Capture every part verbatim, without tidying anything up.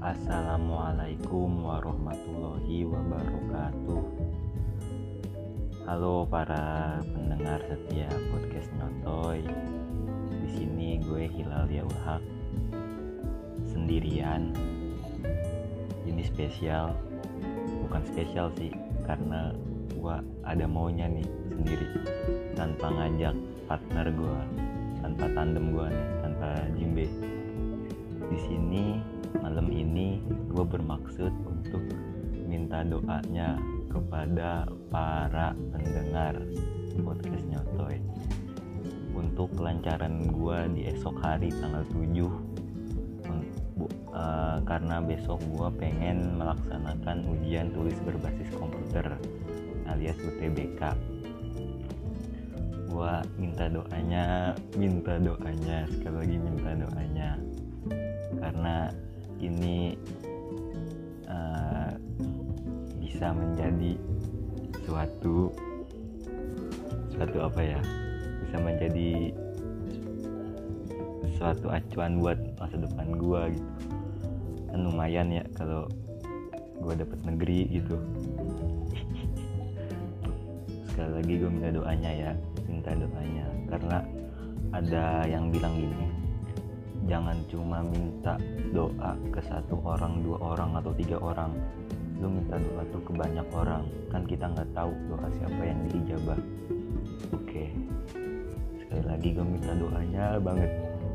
Assalamualaikum warahmatullahi wabarakatuh. Halo para pendengar setia podcast Nyotoy. Di sini gue Hilal Yaul Haq sendirian. Ini spesial, bukan spesial sih, karena gue ada maunya nih sendiri, tanpa ngajak partner gue, tanpa tandem gue nih, tanpa Jimbe. Di sini malam ini gue bermaksud untuk minta doanya kepada para pendengar podcast Nyotoy untuk kelancaran gue di esok hari tanggal tujuh, uh, karena besok gue pengen melaksanakan ujian tulis berbasis komputer alias U T B K. Gue minta doanya, minta doanya sekali lagi minta doanya karena ini uh, bisa menjadi suatu suatu apa ya bisa menjadi suatu acuan buat masa depan gue gitu kan. Lumayan ya kalau gue dapet negeri gitu. Sekali lagi gue minta doanya ya minta doanya karena ada yang bilang gini, jangan cuma minta doa ke satu orang, dua orang, atau tiga orang. Lu minta doa tuh ke banyak orang. Kan kita gak tahu doa siapa yang diijabah. Oke, sekali lagi gue minta doanya banget.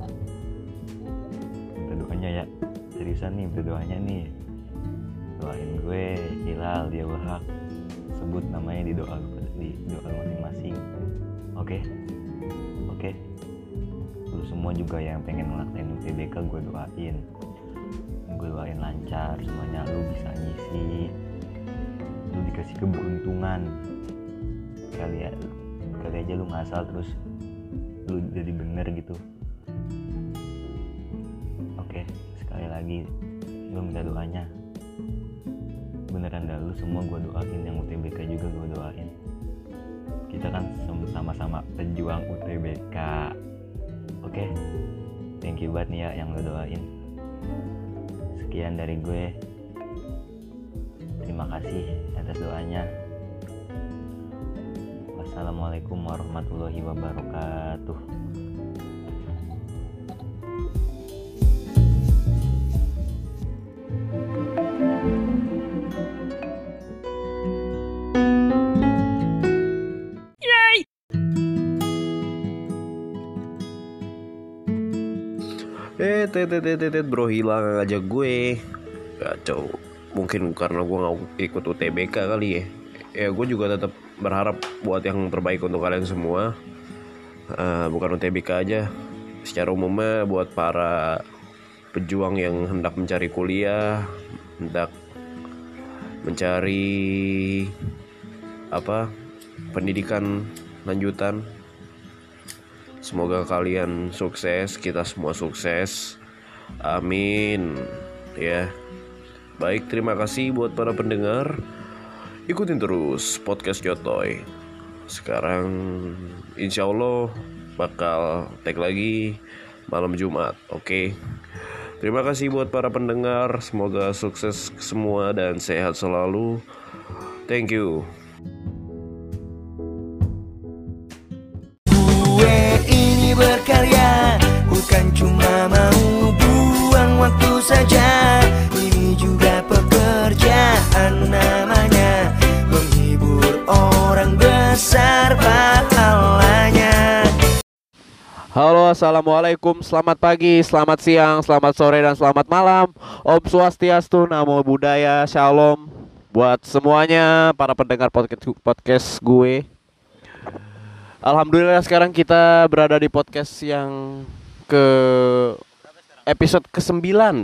Minta doanya ya, seriusan nih minta doanya nih. Doain gue, Hilal Yaul Haq. Sebut namanya di doa di doa masing-masing. Oke, oke. Lu semua juga yang pengen ngelakuin U T B K gue doain gue doain lancar semuanya, lu bisa ngisi, lu dikasih keberuntungan kali ya, kali aja lu ngasal terus lu jadi bener gitu. Oke, sekali lagi gue minta doanya beneran dah, lu semua gue doain, yang U T B K juga gue doain. Kita kan sama-sama pejuang U T B K. Oke, okay. Thank you banget nih ya yang lo doain. Sekian dari gue. Terima kasih atas doanya. Wassalamualaikum warahmatullahi wabarakatuh. Eh, tet, tet, tet, tet, bro hilang ngajak gue. Kacau. Mungkin karena gue gak ikut U T B K kali ya. Ya gue juga tetap berharap buat yang terbaik untuk kalian semua. uh, Bukan U T B K aja, secara umumnya buat para pejuang yang hendak mencari kuliah, hendak mencari apa pendidikan lanjutan. Semoga kalian sukses, kita semua sukses. Amin. Ya. Baik, terima kasih buat para pendengar. Ikutin terus podcast Nyotoy. Sekarang insya Allah bakal tag lagi malam Jumat. Oke. Terima kasih buat para pendengar. Semoga sukses semua dan sehat selalu. Thank you. Berkarya bukan cuma mau buang waktu saja, ini juga pekerjaan namanya, menghibur orang besar pahalanya. Halo, assalamualaikum, selamat pagi, selamat siang, selamat sore, dan selamat malam. Om Swastiastu, Namo Buddhaya, Shalom buat semuanya para pendengar podcast podcast gue. Alhamdulillah sekarang kita berada di podcast yang ke episode kesembilan.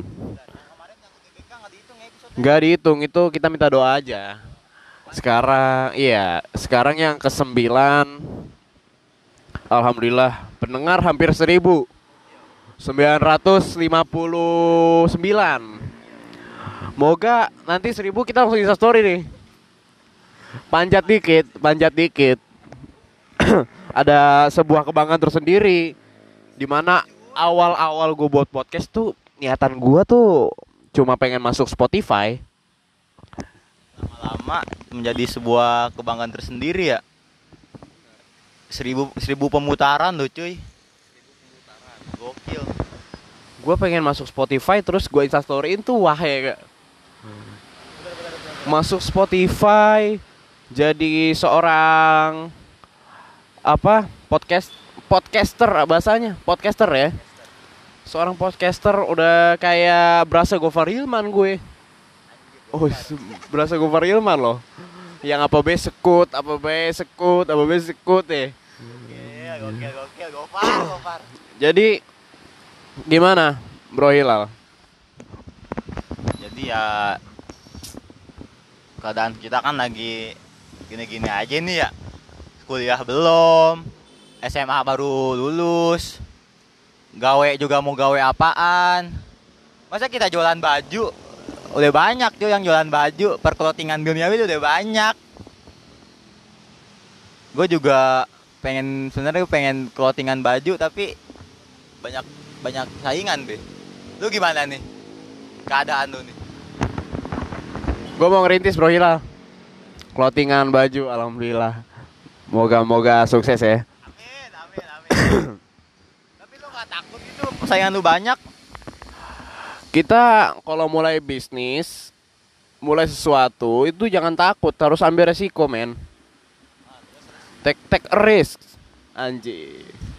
Gak dihitung, itu kita minta doa aja. Sekarang, iya, sekarang yang kesembilan. Alhamdulillah pendengar hampir seribu sembilan ratus lima puluh sembilan. Moga nanti seribu kita langsung Insta story nih. Panjat dikit, panjat dikit. Ada sebuah kebanggaan tersendiri, dimana awal-awal gue buat podcast tuh niatan gue tuh cuma pengen masuk Spotify. Lama-lama menjadi sebuah kebanggaan tersendiri ya. Seribu, seribu pemutaran loh cuy. Gokil. Gue pengen masuk Spotify terus gue instastoryin tuh wah ya gak? Masuk Spotify jadi seorang apa podcast podcaster bahasanya podcaster ya, seorang podcaster udah kayak berasa Gofar Hilman gue. Oh berasa Gofar Hilman loh, yang apa be sekut apa be sekut apa be sekut ya. Iya gokil gokil Gofar Gofar. Jadi gimana Bro Hilal? Jadi ya keadaan kita kan lagi gini-gini aja nih ya. Kuliah belum, S M A baru lulus, gawe juga mau gawe apaan. Masa kita jualan baju? Udah banyak tuh yang jualan baju, perclothingan duniawi udah banyak. Gue juga pengen sebenarnya pengen clothingan baju tapi banyak banyak saingan be. Lu gimana nih keadaan lu nih? Gue mau ngerintis Bro Hilal, clothingan baju, alhamdulillah. Moga-moga sukses ya. Amin, amin, amin. Tapi lu gak takut itu persaingan lu banyak? Kita kalau mulai bisnis, mulai sesuatu itu jangan takut, harus ambil resiko men. Take take a risk, anjir.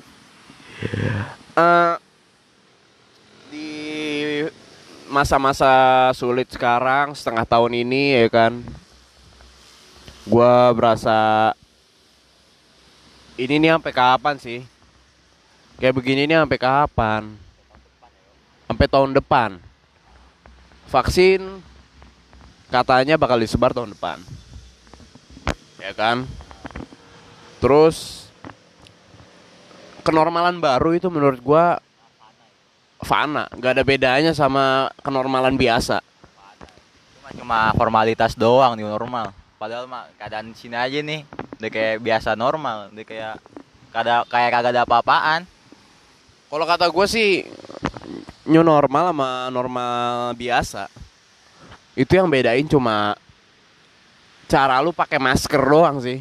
Uh, di masa-masa sulit sekarang setengah tahun ini ya kan, gua berasa ini nih sampai kapan sih? Kayak begini nih sampai kapan? Sampai tahun depan. Vaksin katanya bakal disebar tahun depan. Ya kan? Terus kenormalan baru itu menurut gua fana, gak ada bedanya sama kenormalan biasa. Cuma, cuma formalitas doang nih normal. Padahal mah keadaan sini aja nih udah kayak biasa normal, udah kayak kada kayak kagak ada apa-apaan. Kalau kata gue sih new normal sama normal biasa itu yang bedain cuma cara lu pakai masker doang sih.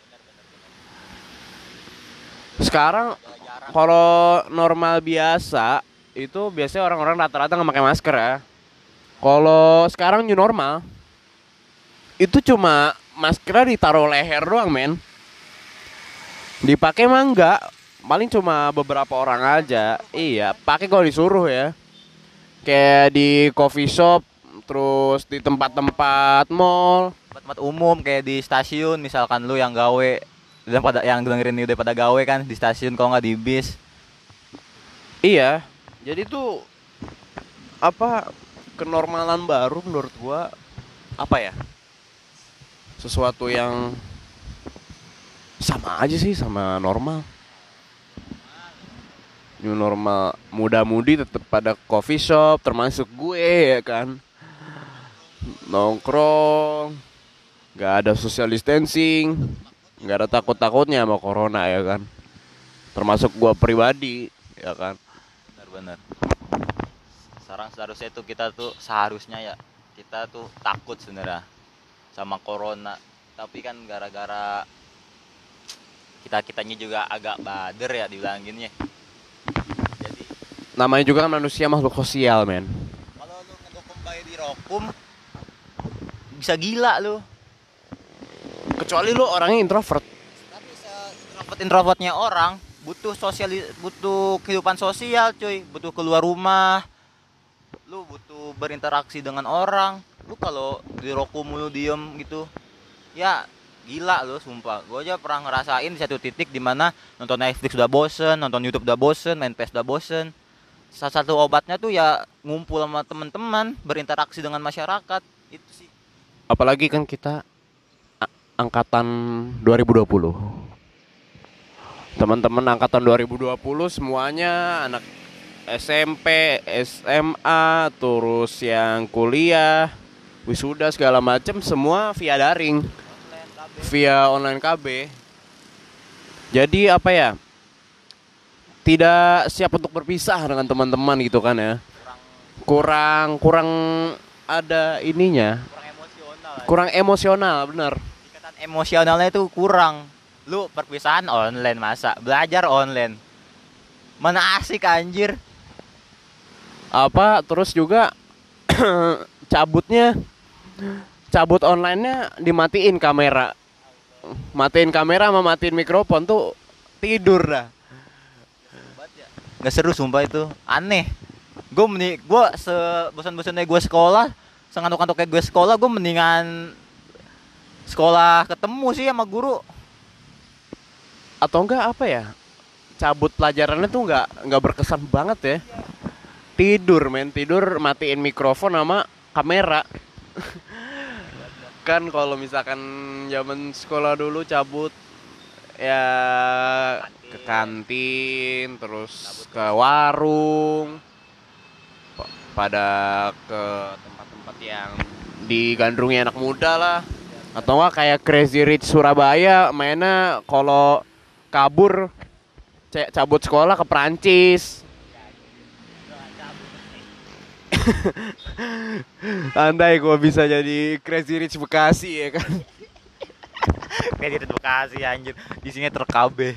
Sekarang kalau normal biasa itu biasanya orang-orang rata-rata nggak pakai masker ya. Kalau sekarang new normal itu cuma maskernya ditaruh leher doang men. Dipakai mah enggak, paling cuma beberapa orang aja. Iya, pakai kalau disuruh ya. Kayak di coffee shop, terus di tempat-tempat mall, Tempat-tempat umum kayak di stasiun misalkan lu yang gawe udah pada yang dengerin ini udah pada gawe kan di stasiun kalau nggak di bis. iya. Jadi tuh apa kenormalan baru menurut gua apa ya? Sesuatu yang sama aja sih sama normal. New normal, muda-mudi tetap pada coffee shop, termasuk gue ya kan. Nongkrong, nggak ada social distancing, nggak ada takut-takutnya sama corona ya kan. Termasuk gue pribadi ya kan. Benar-benar. Sekarang seharusnya tuh kita tuh seharusnya ya kita tuh takut sebenarnya sama corona. Tapi kan gara-gara kita kitanya juga agak bader ya dibilanginnya. Jadi Namanya juga kan manusia makhluk sosial men. kalau lu ngedokem bayi di rokum bisa gila lu. Kecuali lu orangnya introvert. Tapi introvert introvertnya orang butuh sosial, butuh kehidupan sosial cuy, butuh keluar rumah, lu butuh berinteraksi dengan orang. Lu kalau di rokum lu diem gitu ya gila lu sumpah. Gue aja pernah ngerasain di satu titik dimana nonton Netflix udah bosen, nonton YouTube udah bosen, main P S udah bosen. Salah satu obatnya tuh ya ngumpul sama teman-teman, berinteraksi dengan masyarakat. Itu sih. Apalagi kan kita a- angkatan dua ribu dua puluh. Teman-teman angkatan dua ribu dua puluh semuanya anak S M P, S M A, terus yang kuliah, wisuda segala macam semua via daring, via online K B. Jadi apa ya? Tidak siap untuk berpisah dengan teman-teman gitu kan ya. kurang kurang ada ininya, Kurang emosional. kurang emosional, bener. Ikatan emosionalnya itu kurang. Lu perpisahan online masa, belajar online. Mana asik anjir. Apa terus juga cabutnya, cabut online-nya dimatiin kamera, matiin kamera sama matiin mikrofon tuh tidur dah. Nggak seru sumpah itu, aneh. Gue mending, gue sebosan-bosannya gue sekolah, sengantuk-ngantuknya gue sekolah, gue mendingan sekolah ketemu sih sama guru. Atau enggak apa ya, cabut pelajarannya tuh enggak enggak berkesan banget ya. Tidur men, tidur matiin mikrofon sama kamera. Kan kalau misalkan zaman sekolah dulu cabut ya ke kantin, terus ke warung, pa- pada ke tempat-tempat yang digandrungi anak muda lah. Atau enggak kayak Crazy Rich Surabaya, mainnya kalau kabur c- cabut sekolah ke Perancis. Andai gua bisa jadi Crazy Rich Bekasi ya kan. Kayak di Bekasi anjir, di sini terkabe.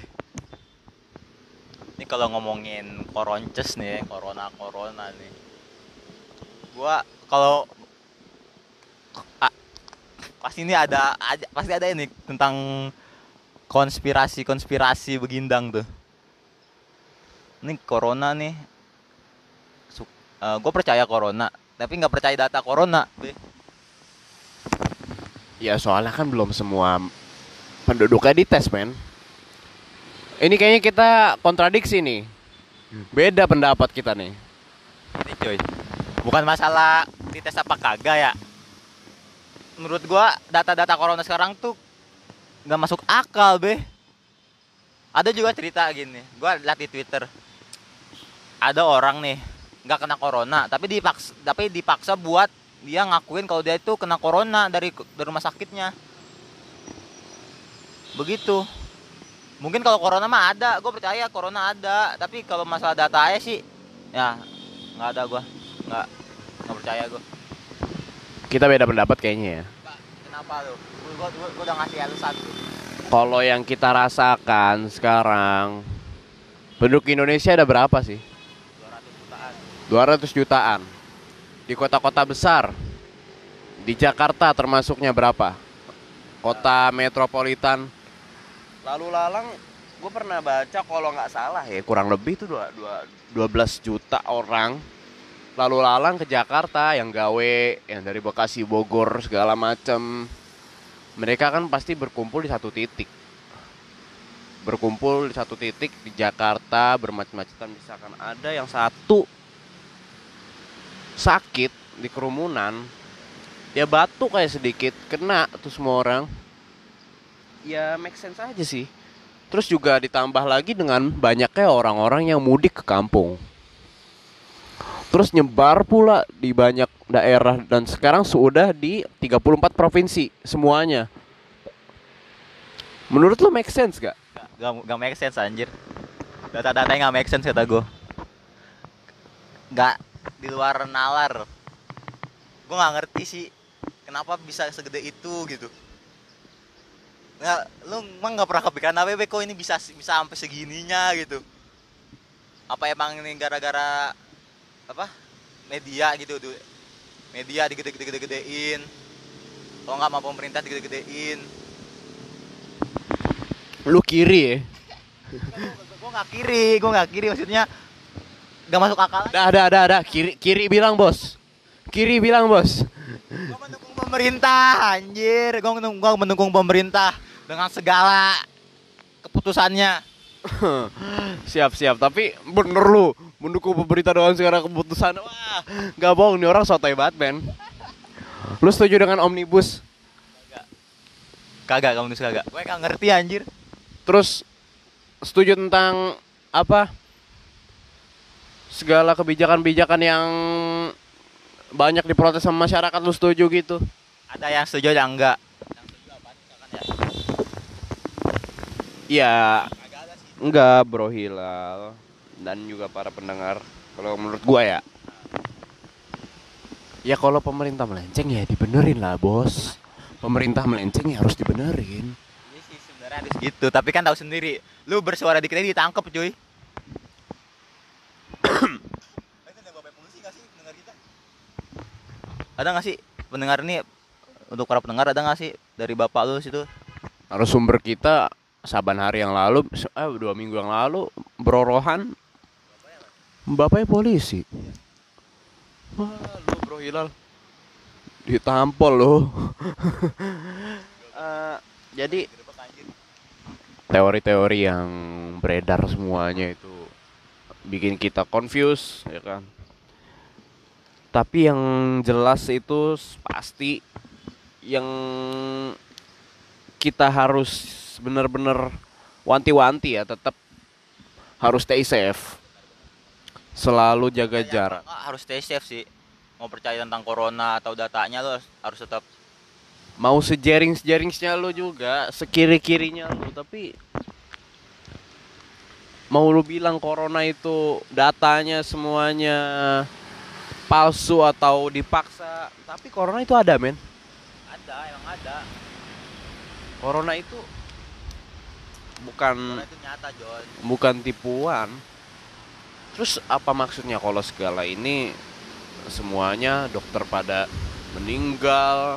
Ini kalau ngomongin koronces nih, corona corona nih. Gua kalau ah, pasti ini ada, ada pasti ada ini tentang konspirasi-konspirasi begindang tuh. Ini corona nih. Uh, gue percaya corona, tapi nggak percaya data corona. Be. Ya soalnya kan belum semua penduduknya dites men. Ini kayaknya kita kontradiksi nih. Beda pendapat kita nih. Ini coy, bukan masalah dites apa kagak ya. Menurut gue data-data corona sekarang tuh nggak masuk akal be. Ada juga cerita gini, gue lihat di Twitter. Ada orang nih nggak kena corona, tapi dipaksa, tapi dipaksa buat dia ngakuin kalau dia itu kena corona dari dari rumah sakitnya. Begitu. Mungkin kalau corona mah ada, gue percaya corona ada. Tapi kalau masalah data aja sih, ya nggak ada gue, nggak nggak percaya gue. Kita beda pendapat kayaknya ya. Kenapa lu? Gue gue udah ngasih alasan. Kalau yang kita rasakan sekarang, penduduk Indonesia ada berapa sih? dua ratus jutaan. Di kota-kota besar. Di Jakarta termasuknya berapa? Kota metropolitan. Lalu lalang, gue pernah baca kalau nggak salah ya, kurang lebih tuh dua belas juta orang. Lalu lalang ke Jakarta yang gawe, yang dari Bekasi, Bogor, segala macem. Mereka kan pasti berkumpul di satu titik. Berkumpul di satu titik di Jakarta, bermacam-macam. Misalkan ada yang satu sakit di kerumunan, ya batuk kayak sedikit, kena tuh semua orang. Ya make sense aja sih. Terus juga ditambah lagi dengan banyaknya orang-orang yang mudik ke kampung. Terus nyebar pula di banyak daerah dan sekarang sudah di tiga puluh empat provinsi semuanya. Menurut lo make sense gak? Gak, gak make sense anjir. Data-datanya gak make sense kata gue. Gak di luar nalar. Gue gak ngerti sih kenapa bisa segede itu gitu. Nggak, lu emang gak pernah kepikiran apa be, kok ini bisa bisa sampai segininya gitu. Apa emang ini gara-gara apa media gitu tuh, media digede-gede-gedein, kalau nggak mau pemerintah digede-gedein. Lu kiri ya? Gue nggak kiri, gue nggak kiri, maksudnya nggak masuk akal. Dah, dah, dah, dah. Kiri, kiri bilang bos. Kiri bilang bos. Gue mendukung pemerintah, anjir. Gue mendukung, gue mendukung pemerintah dengan segala keputusannya. Siap, siap. Tapi bener lu mendukung pemerintah dengan segala keputusan. Wah, nggak bohong nih orang sotoy banget men. Lu setuju dengan omnibus? Kagak, kamu nulis kagak. Gue gak ngerti anjir. Terus setuju tentang apa? Segala kebijakan-kebijakan yang banyak diprotes sama masyarakat, lu setuju gitu? Ada yang setuju, ada yang enggak. Yang setuju apaan misalkan ya? Ya, Kagak ada sih. enggak Bro Hilal dan juga para pendengar. Kalau menurut gua ya, Ya kalau pemerintah melenceng ya dibenerin lah bos. Pemerintah melenceng ya harus dibenerin. Iya sih sebenarnya harus gitu, tapi kan tahu sendiri, lu bersuara dikit aja ditangkep cuy. Ada nggak sih pendengar ini, untuk para pendengar ada nggak sih dari bapak lu situ? Narasumber kita saban hari yang lalu, eh dua minggu yang lalu berorohan, bapaknya polisi. Wah, lu bro Hilal ditampol lo. uh, jadi teori-teori yang beredar semuanya itu bikin kita confused, ya kan? Tapi yang jelas itu pasti yang kita harus benar-benar wanti-wanti ya, tetap harus stay safe. Selalu jaga jarak. Harus stay safe sih. Mau percaya tentang corona atau datanya lo harus tetap. Mau sejaring-jaringsnya lo juga, sekiri-kirinya lo, tapi mau lu bilang corona itu datanya semuanya palsu atau dipaksa, tapi corona itu ada men. Ada, emang ada. Corona itu bukan Corona itu nyata John. bukan tipuan. Terus apa maksudnya kalau segala ini semuanya dokter pada meninggal?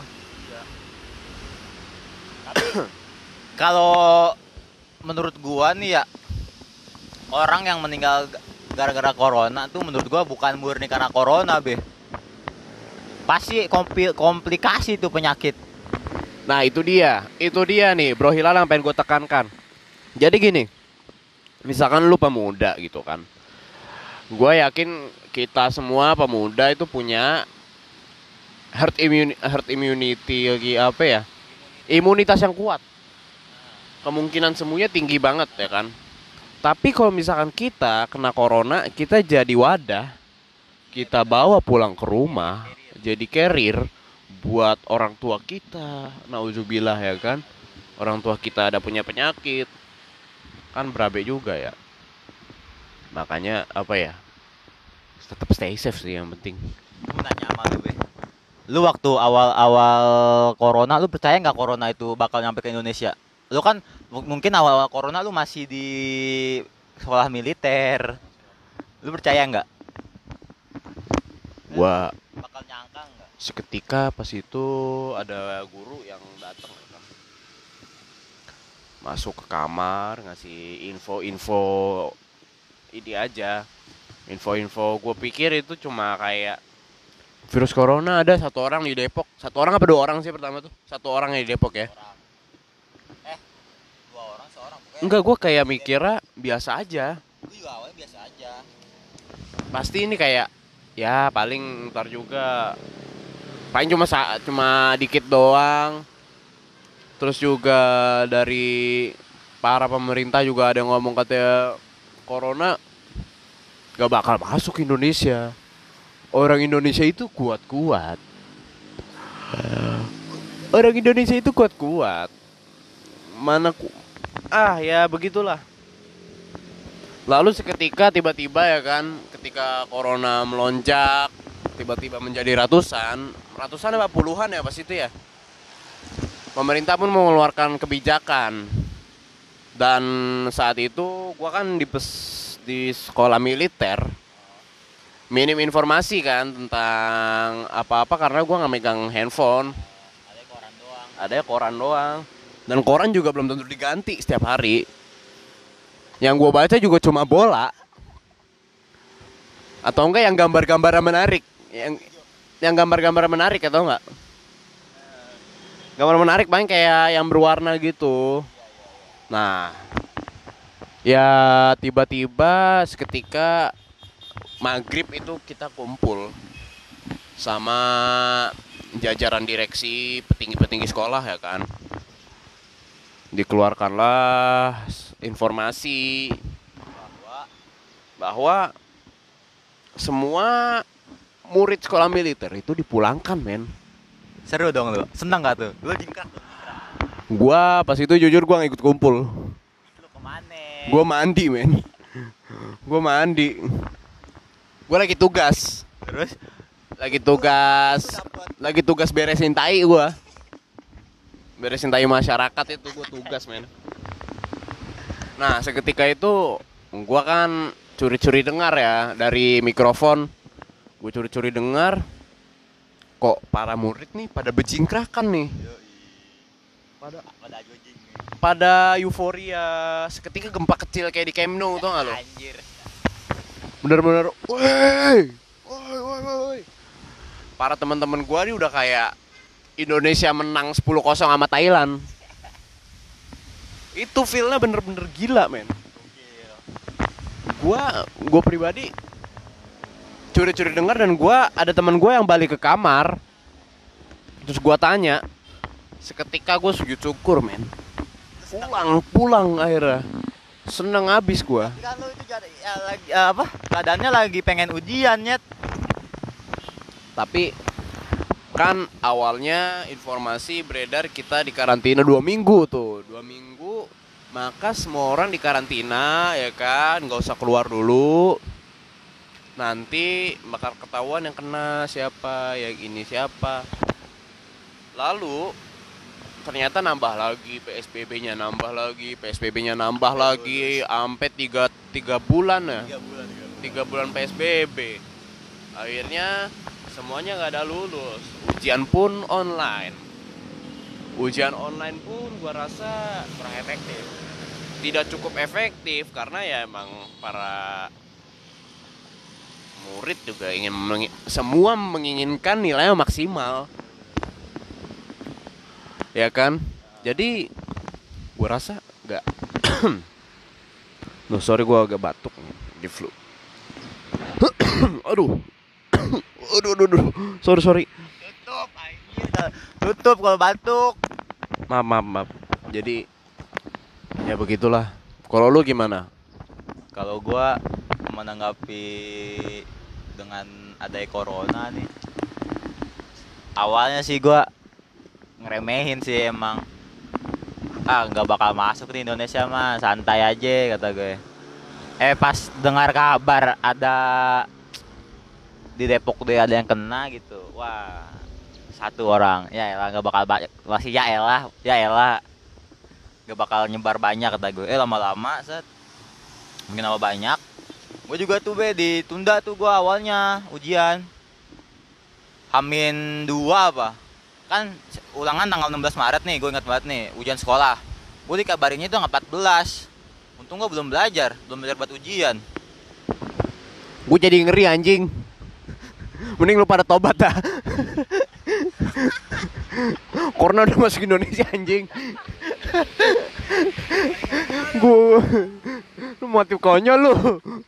Tapi kalau menurut gua nih ya, orang yang meninggal gara-gara corona tuh menurut gua bukan murni karena corona be. Pasti kompli- komplikasi tuh penyakit. Nah itu dia, itu dia nih Bro Hilal yang pengen gue tekankan. Jadi gini, misalkan lu pemuda gitu kan, gue yakin kita semua pemuda itu punya herd immunity, herd immunity lagi apa ya, imunitas yang kuat. Kemungkinan semuanya tinggi banget ya kan. Tapi kalau misalkan kita kena corona, kita jadi wadah, kita bawa pulang ke rumah, jadi carrier buat orang tua kita, nauzubillah ya kan. Orang tua kita ada punya penyakit, kan berabe juga ya. Makanya apa ya, tetap stay safe sih yang penting. Gue nanya sama lu be, lu waktu awal-awal corona lu percaya nggak corona itu bakal nyampe ke Indonesia? Lu kan m- mungkin awal-awal corona lu masih di sekolah militer, lu percaya nggak Gua bakal nyangka nggak? seketika pas itu ada guru yang datang ya kan, masuk ke kamar ngasih info-info ini aja, info-info. Gue pikir itu cuma kayak virus corona ada satu orang di Depok, satu orang apa dua orang sih pertama tuh, satu orang yang di Depok ya. Eh, dua orang seorang pokoknya. Enggak, gue kayak mikirnya biasa aja. Gue juga awalnya biasa aja. Pasti ini kayak ya paling ntar juga, paling cuma saat cuma dikit doang. Terus juga dari para pemerintah juga ada yang ngomong katanya corona gak bakal masuk Indonesia. Orang Indonesia itu kuat-kuat. Orang Indonesia itu kuat-kuat. Mana ku... Ah ya begitulah. Lalu seketika tiba-tiba ya kan, ketika corona melonjak, tiba-tiba menjadi ratusan, ratusan apa puluhan ya pas itu ya. Pemerintah pun mengeluarkan kebijakan. Dan saat itu gua kan di pes, di sekolah militer, minim informasi kan tentang apa-apa karena gua nggak megang handphone. Ada koran doang. Ada koran doang. Dan koran juga belum tentu diganti setiap hari. Yang gue baca juga cuma bola. Atau enggak yang gambar-gambar menarik. Yang yang gambar-gambar menarik atau enggak? Gambar menarik paling kayak yang berwarna gitu. Nah, ya tiba-tiba seketika maghrib itu kita kumpul sama jajaran direksi, petinggi-petinggi sekolah ya kan. Dikeluarkanlah informasi bahwa bahwa semua murid sekolah militer itu dipulangkan, men. Seru dong lu. Senang gak tuh? Lu jingkrak tuh. Gua pas itu jujur gua gak ikut kumpul. Lu kemana? Gua mandi, men. Gua mandi. Gua lagi tugas. Terus lagi tugas lagi tugas beresin tai gua. Beresin tai masyarakat itu gua tugas, men. Nah, seketika itu gua kan curi-curi dengar ya dari mikrofon. Gua curi-curi dengar kok para murid nih pada bejingkrakan nih. Pada Pada anjing. pada euforia, seketika gempa kecil kayak di Camp Nou, tau gak lo? Anjir. Bener-bener, woi, woi, woi, woi. Para teman-teman gua nih udah kayak Indonesia menang sepuluh kosong sama Thailand. Itu feel-nya bener-bener gila, men. Gua, gua pribadi curi-curi dengar dan gua ada teman gua yang balik ke kamar. Terus gua tanya, seketika gua sujud syukur, men. Pulang, pulang akhirnya. Seneng abis gua. Kan lu itu jadi ya, lagi ya, apa? Keadaannya lagi pengen ujian, Nyet. Tapi kan awalnya informasi beredar kita di karantina dua minggu tuh, dua minggu. Maka semua orang di karantina, ya kan, nggak usah keluar dulu. Nanti bakal ketahuan yang kena siapa, yang ini siapa. Lalu ternyata nambah lagi P S B B-nya, nambah lagi P S B B-nya, nambah lagi sampai tiga tiga bulan ya. tiga bulan, tiga bulan P S B B. Akhirnya semuanya nggak ada lulus. Ujian pun online. Ujian online pun gua rasa kurang efektif. Tidak cukup efektif karena ya emang para murid juga ingin mengi- semua menginginkan nilainya maksimal. Ya kan? Jadi gua rasa nggak. Loh, sorry gua agak batuk nih, di flu. Aduh. Aduh, aduh, aduh. Sorry, sorry. Tutup, anjir. Tutup kalau batuk. Maaf, maaf, maaf. Jadi ya begitulah. Kalau lu gimana? Kalau gua menanggapi dengan adanya corona nih, awalnya sih gua ngeremehin sih emang. Ah, nggak bakal masuk di Indonesia mah, santai aja kata gue. Eh pas dengar kabar ada di Depok dia ada yang kena gitu, wah satu orang, ya elah nggak bakal banyak, masih ya elah, ya elah nggak bakal nyebar banyak kata gue. Eh lama-lama set mungkin nama banyak. Gue juga tuh be ditunda tuh gue awalnya ujian Hamin dua apa kan ulangan tanggal enam belas Maret nih, gue ingat banget nih ujian sekolah. Gue dikabarinnya itu tanggal empat belas. Untung gue belum belajar, belum belajar buat ujian. Gue jadi ngeri anjing. Mending lu pada tobat dah. Corona udah masuk Indonesia anjing. Gue lu mati konyol lu.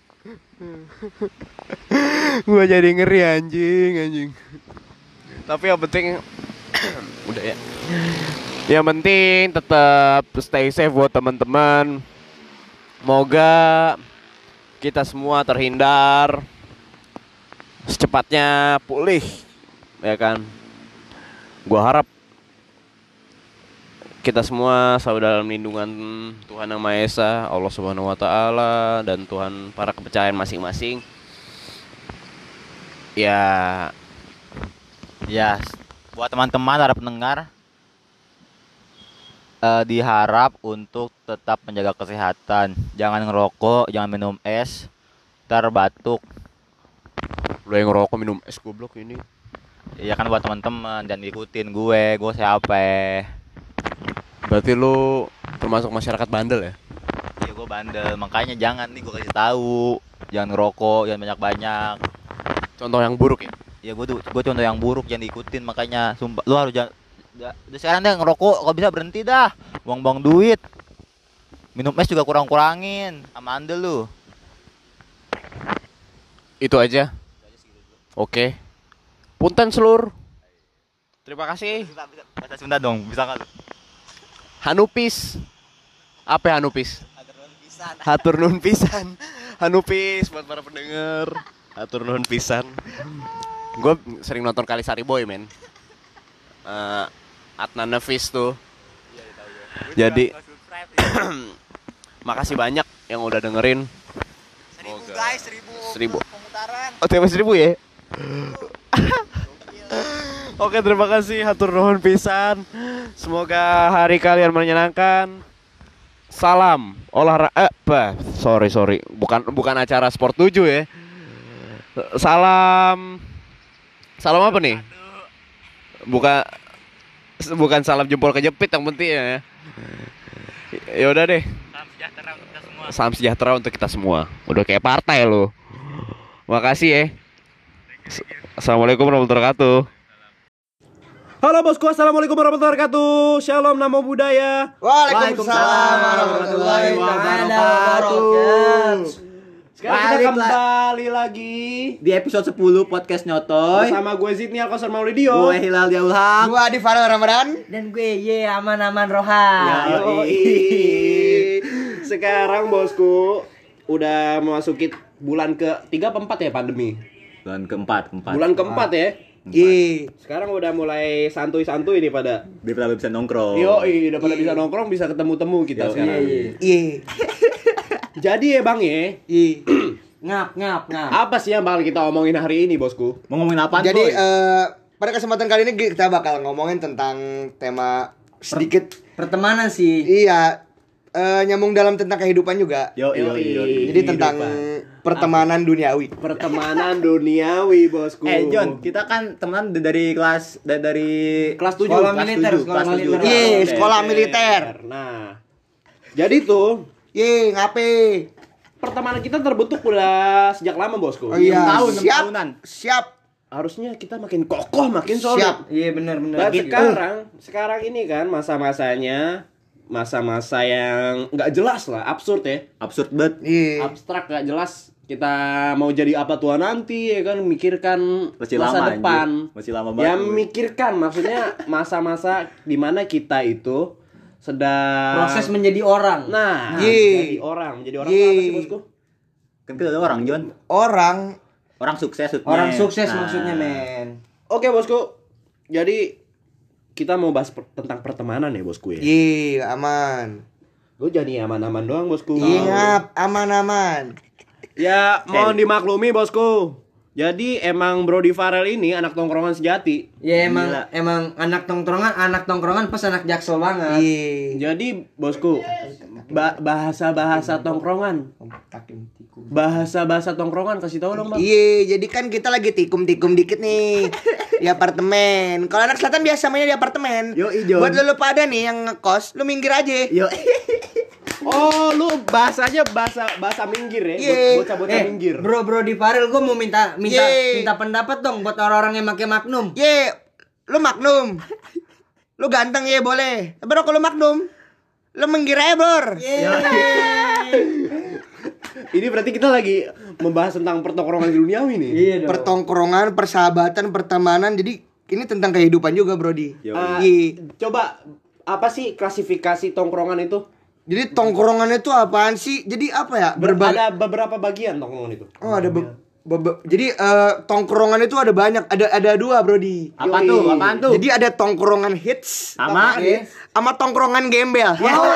Gue jadi ngeri anjing anjing. Tapi yang penting udah ya. Yang penting tetap stay safe buat teman-teman. Semoga kita semua terhindar secepatnya pulih, ya kan? Gua harap kita semua selalu dalam lindungan Tuhan Yang Maha Esa, Allah Subhanahu wa taala, dan Tuhan para kepercayaan masing-masing. Ya, Ya, buat teman-teman para pendengar, eh, diharap untuk tetap menjaga kesehatan. Jangan ngerokok, jangan minum es, ntar batuk. lu yang ngerokok minum es goblok ini. Ya kan buat teman-teman dan ikutin gue, gue siapa? Berarti lu termasuk masyarakat bandel ya? Ya gue bandel, makanya jangan nih gue kasih tahu, jangan ngerokok, jangan banyak-banyak. Contoh yang buruk ya? Ya gue tuh, gue contoh yang buruk jangan diikutin, makanya sumpah lu harus jangan. Udah sekarang deh ngerokok, kalau bisa berhenti dah, buang-buang duit. Minum es juga kurang-kurangin, sama andel lu. Itu aja. Oke. Punten seluruh. Terima kasih. Bahasa Sunda dong, bisa nggak lu? Hanupis. Apa ya Hanupis? Hatur nuhun pisan. Hanupis buat para pendengar. Hatur nuhun pisan. Gue sering nonton Kali Sari Boy, men. Uh, Adnan Nefis tuh. Jadi makasih banyak yang udah dengerin. Seribu guys, seribu. Seribu. Pemutaran. Oh, seribu ya? Oke, terima kasih hatur nuhun pisan. Semoga hari kalian menyenangkan. Salam olahraga eh, bah, sorry sorry, bukan bukan acara sport tujuh ya. Salam salam apa nih? Bukan bukan salam jempol kejepit yang penting ya. Ya udah deh. Salam sejahtera untuk kita semua. Salam sejahtera untuk kita semua. Udah kayak partai lo. Makasih ya. Assalamualaikum warahmatullahi wabarakatuh. Halo bosku, assalamualaikum warahmatullahi wabarakatuh. Shalom, namo buddhaya. Waalaikumsalam warahmatullahi wabarakatuh. Sekarang kita kembali lagi Di episode sepuluh podcast Nyotoy bersama gue Zidni Alkosar Maulidio. Gue Hilal Diaulham. Gua Adi Farel Ramadan. Dan gue ye aman-aman Rohan. Yoi. Sekarang bosku udah memasuki bulan ke tiga apa empat ya pandemi. Bulan keempat, keempat. Bulan keempat ya. Iya. Sekarang udah mulai santuy-santuy nih pada. Biar pada bisa nongkrong. Yoi, udah pada bisa nongkrong, bisa ketemu-temu kita Yoi. sekarang. Iya. Jadi ya Bang ya, Iya. Ngap ngap ngap. apa sih yang bakal kita omongin hari ini bosku? Mau ngomongin apaan, Jadi Boy? eh, pada kesempatan kali ini kita bakal ngomongin tentang tema sedikit Pertemanan sih. iya eh, nyambung dalam tentang kehidupan juga. Yo, yo, Yoi. yo. Jadi tentang pertemanan duniawi. Pertemanan duniawi bosku. Eh John, kita kan teman dari kelas dari, dari kelas tujuh. Sekolah kelas militer, tujuh, sekolah kelas tujuh. militer. Iya, Oke. sekolah militer. Nah, jadi tuh Iya, ngape? pertemanan kita terbentuk udah sejak lama bosku. Oh iya, tahun, enam siap. tahunan. Siap. Harusnya kita makin kokoh, makin solid. Siap. Iya benar benar. Dan sekarang, sekarang ini kan masa-masanya masa-masa yang nggak jelas lah, absurd ya, Absurd banget. Iya. abstrak nggak jelas. Kita mau jadi apa tua nanti ya kan, mikirkan Masih masa lama, depan. anjir. Masih lama banget. Ya mikirkan, maksudnya masa-masa dimana kita itu sedang Proses menjadi orang. Nah, Ye. jadi orang, menjadi orang Ye. itu apa sih bosku? Kan kita ada orang, John. Orang Orang sukses, sukses. Orang sukses Nah. maksudnya men. Oke bosku, jadi kita mau bahas per- tentang pertemanan ya bosku ya. iya aman. Gue jadi aman-aman doang bosku. Iya, ngap, aman-aman. Ya mohon dimaklumi bosku. Jadi emang Brody Farel ini anak tongkrongan sejati. Ya emang Gila. emang anak tongkrongan, anak tongkrongan pas anak jaksel banget. Iya. Jadi bosku, ba- bahasa-bahasa tongkrongan, bahasa-bahasa tongkrongan kasih tahu dong bang. Iya, jadi kan kita lagi tikum-tikum dikit nih di apartemen. Kalau anak selatan biasa mainnya di apartemen. Yo, ijo. Buat lu pada nih yang ngekos, lu minggir aja. Yo. Oh lu bahasanya bahasa bahasa minggir ya, Iya. buat bocah-bocah Eh, minggir. bro bro di Farel gue mau minta minta Ye. minta pendapat dong buat orang-orang yang pakai Magnum. Ye, lu magnum. Lu ganteng ya boleh. Tapi kalau lu magnum, lu minggir aja, Bor. Ini berarti kita lagi membahas tentang pertongkrongan duniawi nih. Iya dong. Pertongkrongan, persahabatan, pertemanan. Jadi ini tentang kehidupan juga, Brody. Yo. Ah, Iya. coba apa sih klasifikasi tongkrongan itu? Jadi tongkrongannya itu apaan sih? Jadi apa ya? Ber- Berbagai. ada beberapa bagian tongkrongan itu. Oh, ada be- be- jadi eh, tongkrongan itu ada banyak. Ada ada dua, Brody. Apa Yoi. tuh? Apaan tuh? Jadi ada tongkrongan hits Sama sama tongkrongan gembel.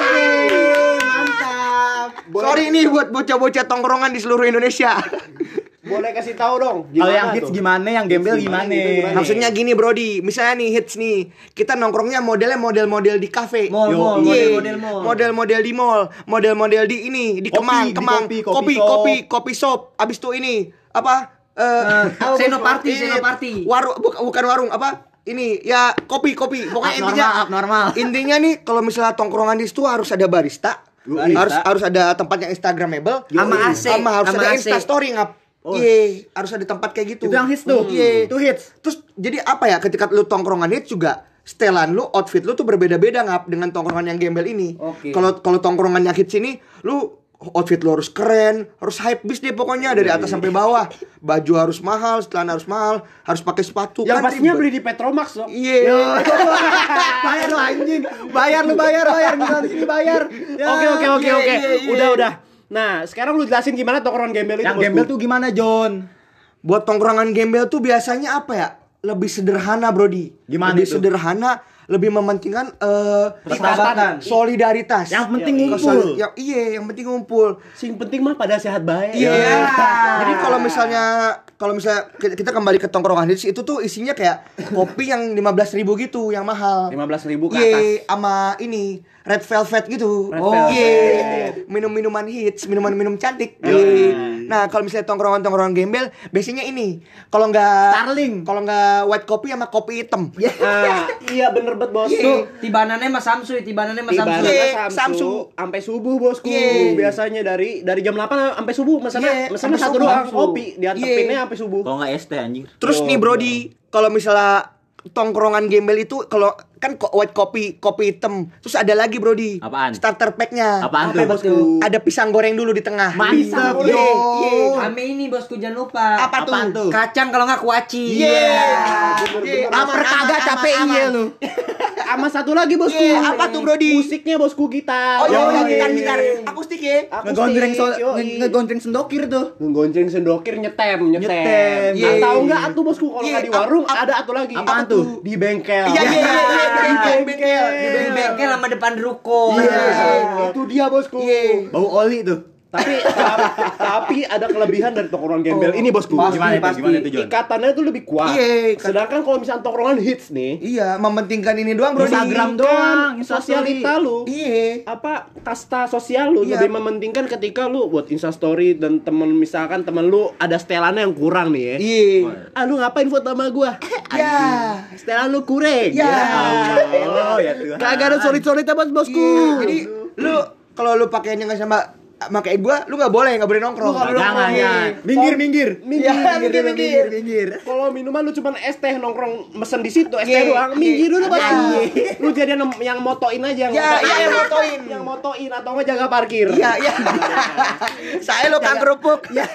Mantap. Sorry nih buat bocah-bocah tongkrongan di seluruh Indonesia. Boleh kasih tahu dong. kalau yang gimana hits tuh? gimana, yang gembel Hits gimana? gimana, gimana? Maksudnya gini, Brody. Misalnya nih hits nih. Kita nongkrongnya modelnya model-model di kafe. Mall, Yo, mall, iya. model-model mall. Model-model di mall, model-model di ini, di Kopi, Kemang, di Kemang. kopi, kopi, kopi kopi, shop. kopi shop. Abis itu ini apa? Eh, Uh, Senoparty, Ini, Senoparty. Warung buka- bukan warung apa? Ini ya kopi, kopi. Pokoknya Abnormal, intinya abnormal. Intinya nih kalau misalnya tongkrongan di situ harus ada barista. Barista. Harus harus ada tempat yang instagramable. Sama A C, Sama harus sama ada A C. Insta story ngap. Oh. Iya, harus ada tempat kayak gitu. Itu yang hits tuh. Iya. Itu hits. Terus jadi apa ya ketika lu tongkrongan hits juga setelan lu, outfit lu tuh berbeda-beda ngap dengan tongkrongan yang gembel ini. Oke. Kalau kalau tongkrongan yang hits ini lu outfit lu harus keren, harus hype bis deh pokoknya dari atas sampai bawah. Baju harus mahal, celana harus mahal, harus pakai sepatu. Yang Kan pastinya ribet. beli di Petromax dong. Iya. Bayar lu anjing. Bayar lu, bayar, bayar. Gimana sini bayar. Ya. Oke oke oke iya, oke. iya, iya. Udah udah. Nah, sekarang lu jelasin gimana tongkrongan gembel itu. Yang bosku. gembel tuh gimana, John? Buat tongkrongan gembel tuh biasanya apa ya? Lebih sederhana, Brody. Gimana lebih itu? sederhana, lebih mementingkan eh Persahabatan. solidaritas. Yang penting Iya, ngumpul. soli- yang- iya, yang penting ngumpul. Sing penting mah pada sehat baik. Iya. Jadi kalau misalnya kalau misalnya kita kita kembali ke tongkrongan hits itu tuh isinya kayak kopi yang lima belas ribu gitu yang mahal. lima belas ribu ke Iya, atas. sama ini Red Velvet gitu. Red Oh, Velvet. iya. Minum-minuman hits, minuman-minum cantik. Iya. Nah, kalau misalnya tongkrongan-tongkrongan gembel, biasanya ini. Kalau nggak Starling. Kalau nggak white kopi sama kopi hitam. Nah, iya bener banget bos. Iya. Tuh, tibanannya mas Samsu, tibanannya mas Samsu. Tiba Iya, Samsu Samsu. sampai subuh bosku. Iya. Biasanya dari dari jam delapan sampai subuh mesennya Iya, mesennya sampai satu subuh. doang kopi, diantepinnya Iya. sampai subuh. Kalau nggak es teh anjing. Terus Yo, nih Brody, kalau misalnya tongkrongan gembel itu kalau kan ko- white kopi, kopi hitam. Terus ada lagi Brody. Apaan? Starter pack-nya. Apaan Apa tuh? bosku? Ada pisang goreng dulu di tengah. Mantap, Iya, yo. iya. Ame ini bosku jangan lupa. Apa tuh? Apaan tuh? Kacang kalau nggak kuaci. Iya. Bener-bener. Aman, Lapar kagak aman, capek aman, iya aman. lu. Sama satu lagi bosku. Iya, apa tuh, Brody? Musiknya bosku gitar. Oh iya, Yoi. gitar gitar akustik ya. Akustik, Ngegondreng so yoi. ngegondreng sendokir tuh. Ngegonceng sendokir nyetem, nyetem. Nyetem. Iya. Atau enggak atuh bosku kalau Iya, nggak di ap- warung ap- ada atuh lagi. apaan tuh? Di bengkel. Iya, iya, iya, iya, bengkel, bengkel. Di bengkel sama depan ruko. Iya, itu dia bosku. Iya. Bau oli tuh. Tapi tapi ada kelebihan dari tongkrongan gembel ini bosku. Pasti, Gimana itu? pasti. Gimana itu, Jon? Ikatannya itu lebih kuat. Iya, ikat- Sedangkan kalau misalnya tongkrongan hits nih, Iya, mementingkan ini doang Brody. Instagram kan doang, Instastory. sosialita lu. Iya. Apa kasta sosial lu Iya. lebih mementingkan ketika lu buat instastory dan temen misalkan temen lu ada setelannya yang kurang nih ya. Iya. Ah lu ngapain foto sama gua? Ya. Setelan lu kurang. Ya. Oh, ya tuh. Kagak ada solid-solid bos bosku. Iya. Jadi lu kalau lu pakainya nggak sama pakai gua, lu nggak boleh, nggak boleh nongkrong. Lu nggak boleh Jangan, nongkrong. jangan. Minggir, minggir. Minggir, Ya, minggir, minggir, minggir, minggir. Kalau minuman lu cuma es teh nongkrong mesen di situ es teh Iya, doang, iya. minggir dulu bos. Iya. Lu jadi yang, yang motoin aja yang Ya, motoin. iya, yang motoin. Yang motoin atau enggak jaga parkir. Iya, iya. Saya lo kang kerupuk. Ya,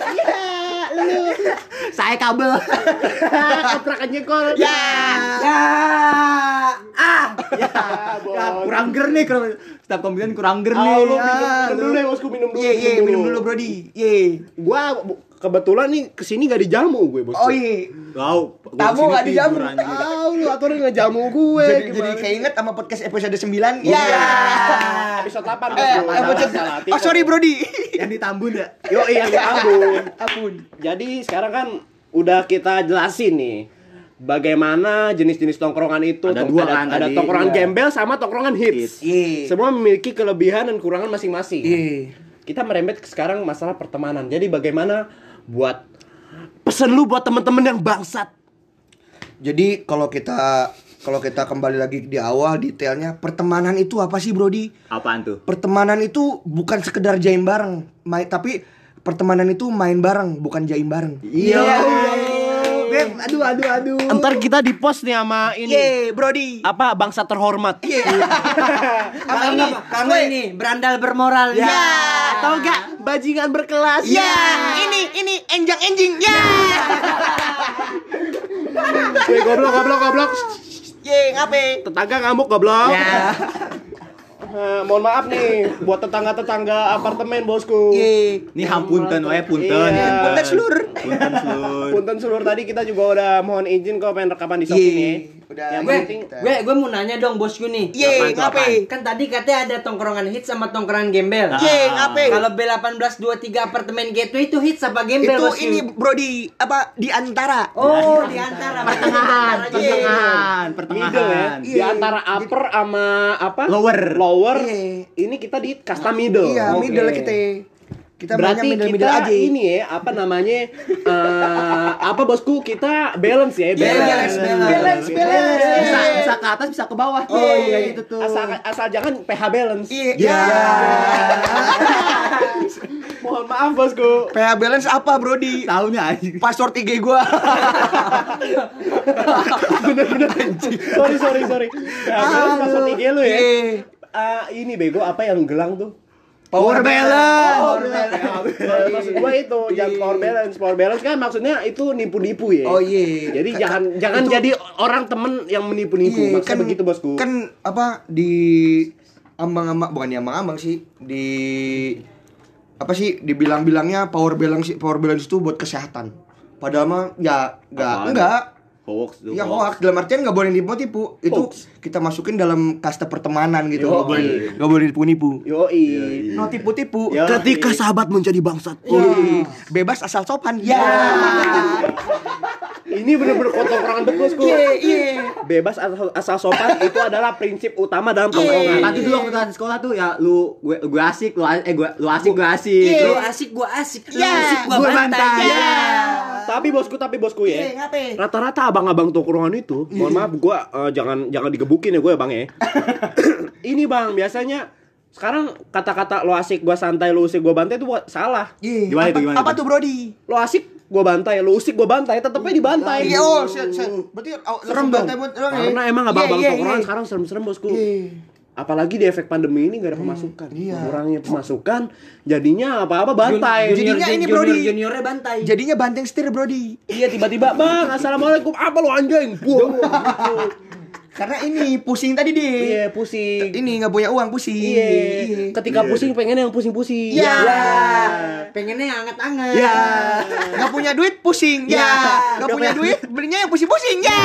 lu. Saya kabel. Kontrakan jengkol. Ya. Ya. Ah. Ya, bos. Ya, kurang ger nih kalau setiap komedian kurang ger Ah, nih. lu Ya, minum, minum lu. dulu deh bosku, minum dulu. Iya, iya, minum dulu Brody. Iya. Gua bu- kebetulan nih kesini gak dijamu gue bosku. Oh iya. Wow, gua Tamu kesini nggak dijamu. tidur, anjing. Tahu lu aturan ngejamu gue. Jadi jadi gimana? keinget sama podcast episode sembilan. Iya. Ya. Episode delapan Eh, bosku. episode- Salah, salah. Oh sorry Brody. Yang ditambun ya. Yo iya ampun. Ampun. Jadi sekarang kan udah kita jelasin nih bagaimana jenis-jenis tongkrongan itu. Ada Tong- dua ada, kan ada tadi. tongkrongan Iya. gembel sama tongkrongan hits. Iya. Semua memiliki kelebihan dan kekurangan masing-masing. Iya. Kita merembet ke sekarang masalah pertemanan. Jadi bagaimana buat pesen lu buat temen-temen yang bangsat. Jadi kalau kita kalau kita kembali lagi di awal detailnya, pertemanan itu apa sih Brody? Apaan tuh? Pertemanan itu bukan sekedar jaim bareng, main, tapi pertemanan itu main bareng, bukan jaim bareng. Iya. Beb, aduh aduh aduh. Ntar kita di post nih sama ini. Ye, Brody. Apa bangsa terhormat. Iya. Apa Kalau ini? nggak- kalau nggak ini berandal bermoral. Ya. Atau enggak bajingan berkelas. Ya, ini ini enjang enjing. Ya. Weh, goblok goblok goblok. Ye, ngape? Tetangga ngamuk goblok. Ya. Eh, mohon maaf nih buat tetangga-tetangga apartemen bosku. Ye. Ini hampunten wae punten. Iya. Punten seluruh. Punten seluruh. Punten seluruh tadi kita juga udah mohon izin kok pengen rekaman di Shopee Ye. nih. Udah. Yang Gue, penting gue, gue mau nanya dong bosku nih. Ye, Apaan tuh, ngape? Kan tadi katanya ada tongkrongan hits sama tongkrongan gembel. Ah. Ye, ngape? Kalau B delapan belas dua puluh tiga apartemen gateway itu hits apa gembel Itu bosku? ini Brody apa di antara. Oh, di antara Pertengahan, Ye. pertengahan, middle ya. pertengahan. Di antara upper sama apa? Lower. Lower. Iya. Ini kita di kasta middle. Iya, Oke. middle kita. Kita Berarti banyak middle kita middle aja. ini ya apa namanya eh, apa bosku kita balance ya Balance, balance, balance, balance. Bisa bisa ke atas, bisa ke bawah. Oh, Iya, iya. gitu tuh. asal asal jangan P H balance. Iya. Ya. Mohon maaf bosku. P H balance apa Brody? Tahunya anjing. Password I G gua. Bener-bener sorry sorry sorry. P H balance password I G lu ya. Iya. Ah, ini bego apa yang gelang tuh? Power balance. Oh, maksud gua itu jangan power balance. Power balance kan maksudnya itu nipu-nipu ya. Oh iya. Jadi Ka- jangan jangan itu- jadi orang temen yang menipu-nipu. Iya, Maksudnya begitu bosku. Kan apa di ambang-ambang bukan di ambang-ambang sih, di apa sih dibilang-bilangnya power balance power balance itu buat kesehatan. Padahal mah ya enggak Apaan? enggak. Hoax tuh. Ya hoax dalam artian nggak boleh tipu-tipu. Itu Hoax. kita masukin dalam kaste pertemanan gitu. Nggak Yoi. boleh nggak boleh tipu-nipu. Yoi. No tipu-tipu. Yoi. Ketika sahabat menjadi bangsat. Iya. Wih, bebas asal sopan. Ya. Ini bener-bener tongkrongan tuh bosku. Iya, iya. Bebas asal, asal sopan itu adalah prinsip utama dalam tongkrongan. Tadi dulu waktu kita sekolah tuh ya lu gue gue asik lu a- eh gue lu asik gue asik. Lu Lu asik, gua asik. Lu Ya, asik, gua gua bantai. bantai. Ya. Tapi bosku, tapi bosku Iya, ya. ngapain? Rata-rata abang-abang tongkrongan itu, mohon maaf gua eh, jangan jangan digebukin ya gue ya bang ya. Ini bang biasanya sekarang kata-kata lo asik gua santai lo usik gua bantai itu buat salah. Iya. Gimana apa, itu, gimana apa itu? tuh Brody? Lo asik gua bantai, lo usik gua bantai, tetepnya dibantai. Iya, oh, se- se- berarti oh, Serem langsung dong. bantai buat orang ya? Karena emang abang-abang Iya, iya, tongkrongan iya. sekarang serem-serem bosku. Iya. Apalagi di efek pandemi ini gak ada pemasukan. iya. Kurangnya pemasukan, jadinya apa-apa bantai. Junior- Jadinya ini, junior, Brody. juniornya bantai. Jadinya banteng setir Brody. Iya tiba-tiba bang, assalamualaikum, apa lo anjing? Buang. Karena ini pusing tadi deh. Iya pusing. Ini nggak punya uang pusing. Iya. Ketika pusing pengen yang pusing-pusing. Iya. Ya. Pengennya yang anget-anget. Ya. Nggak punya duit pusing. Ya. Ya. Nggak punya duit belinya yang pusing-pusing. Ya.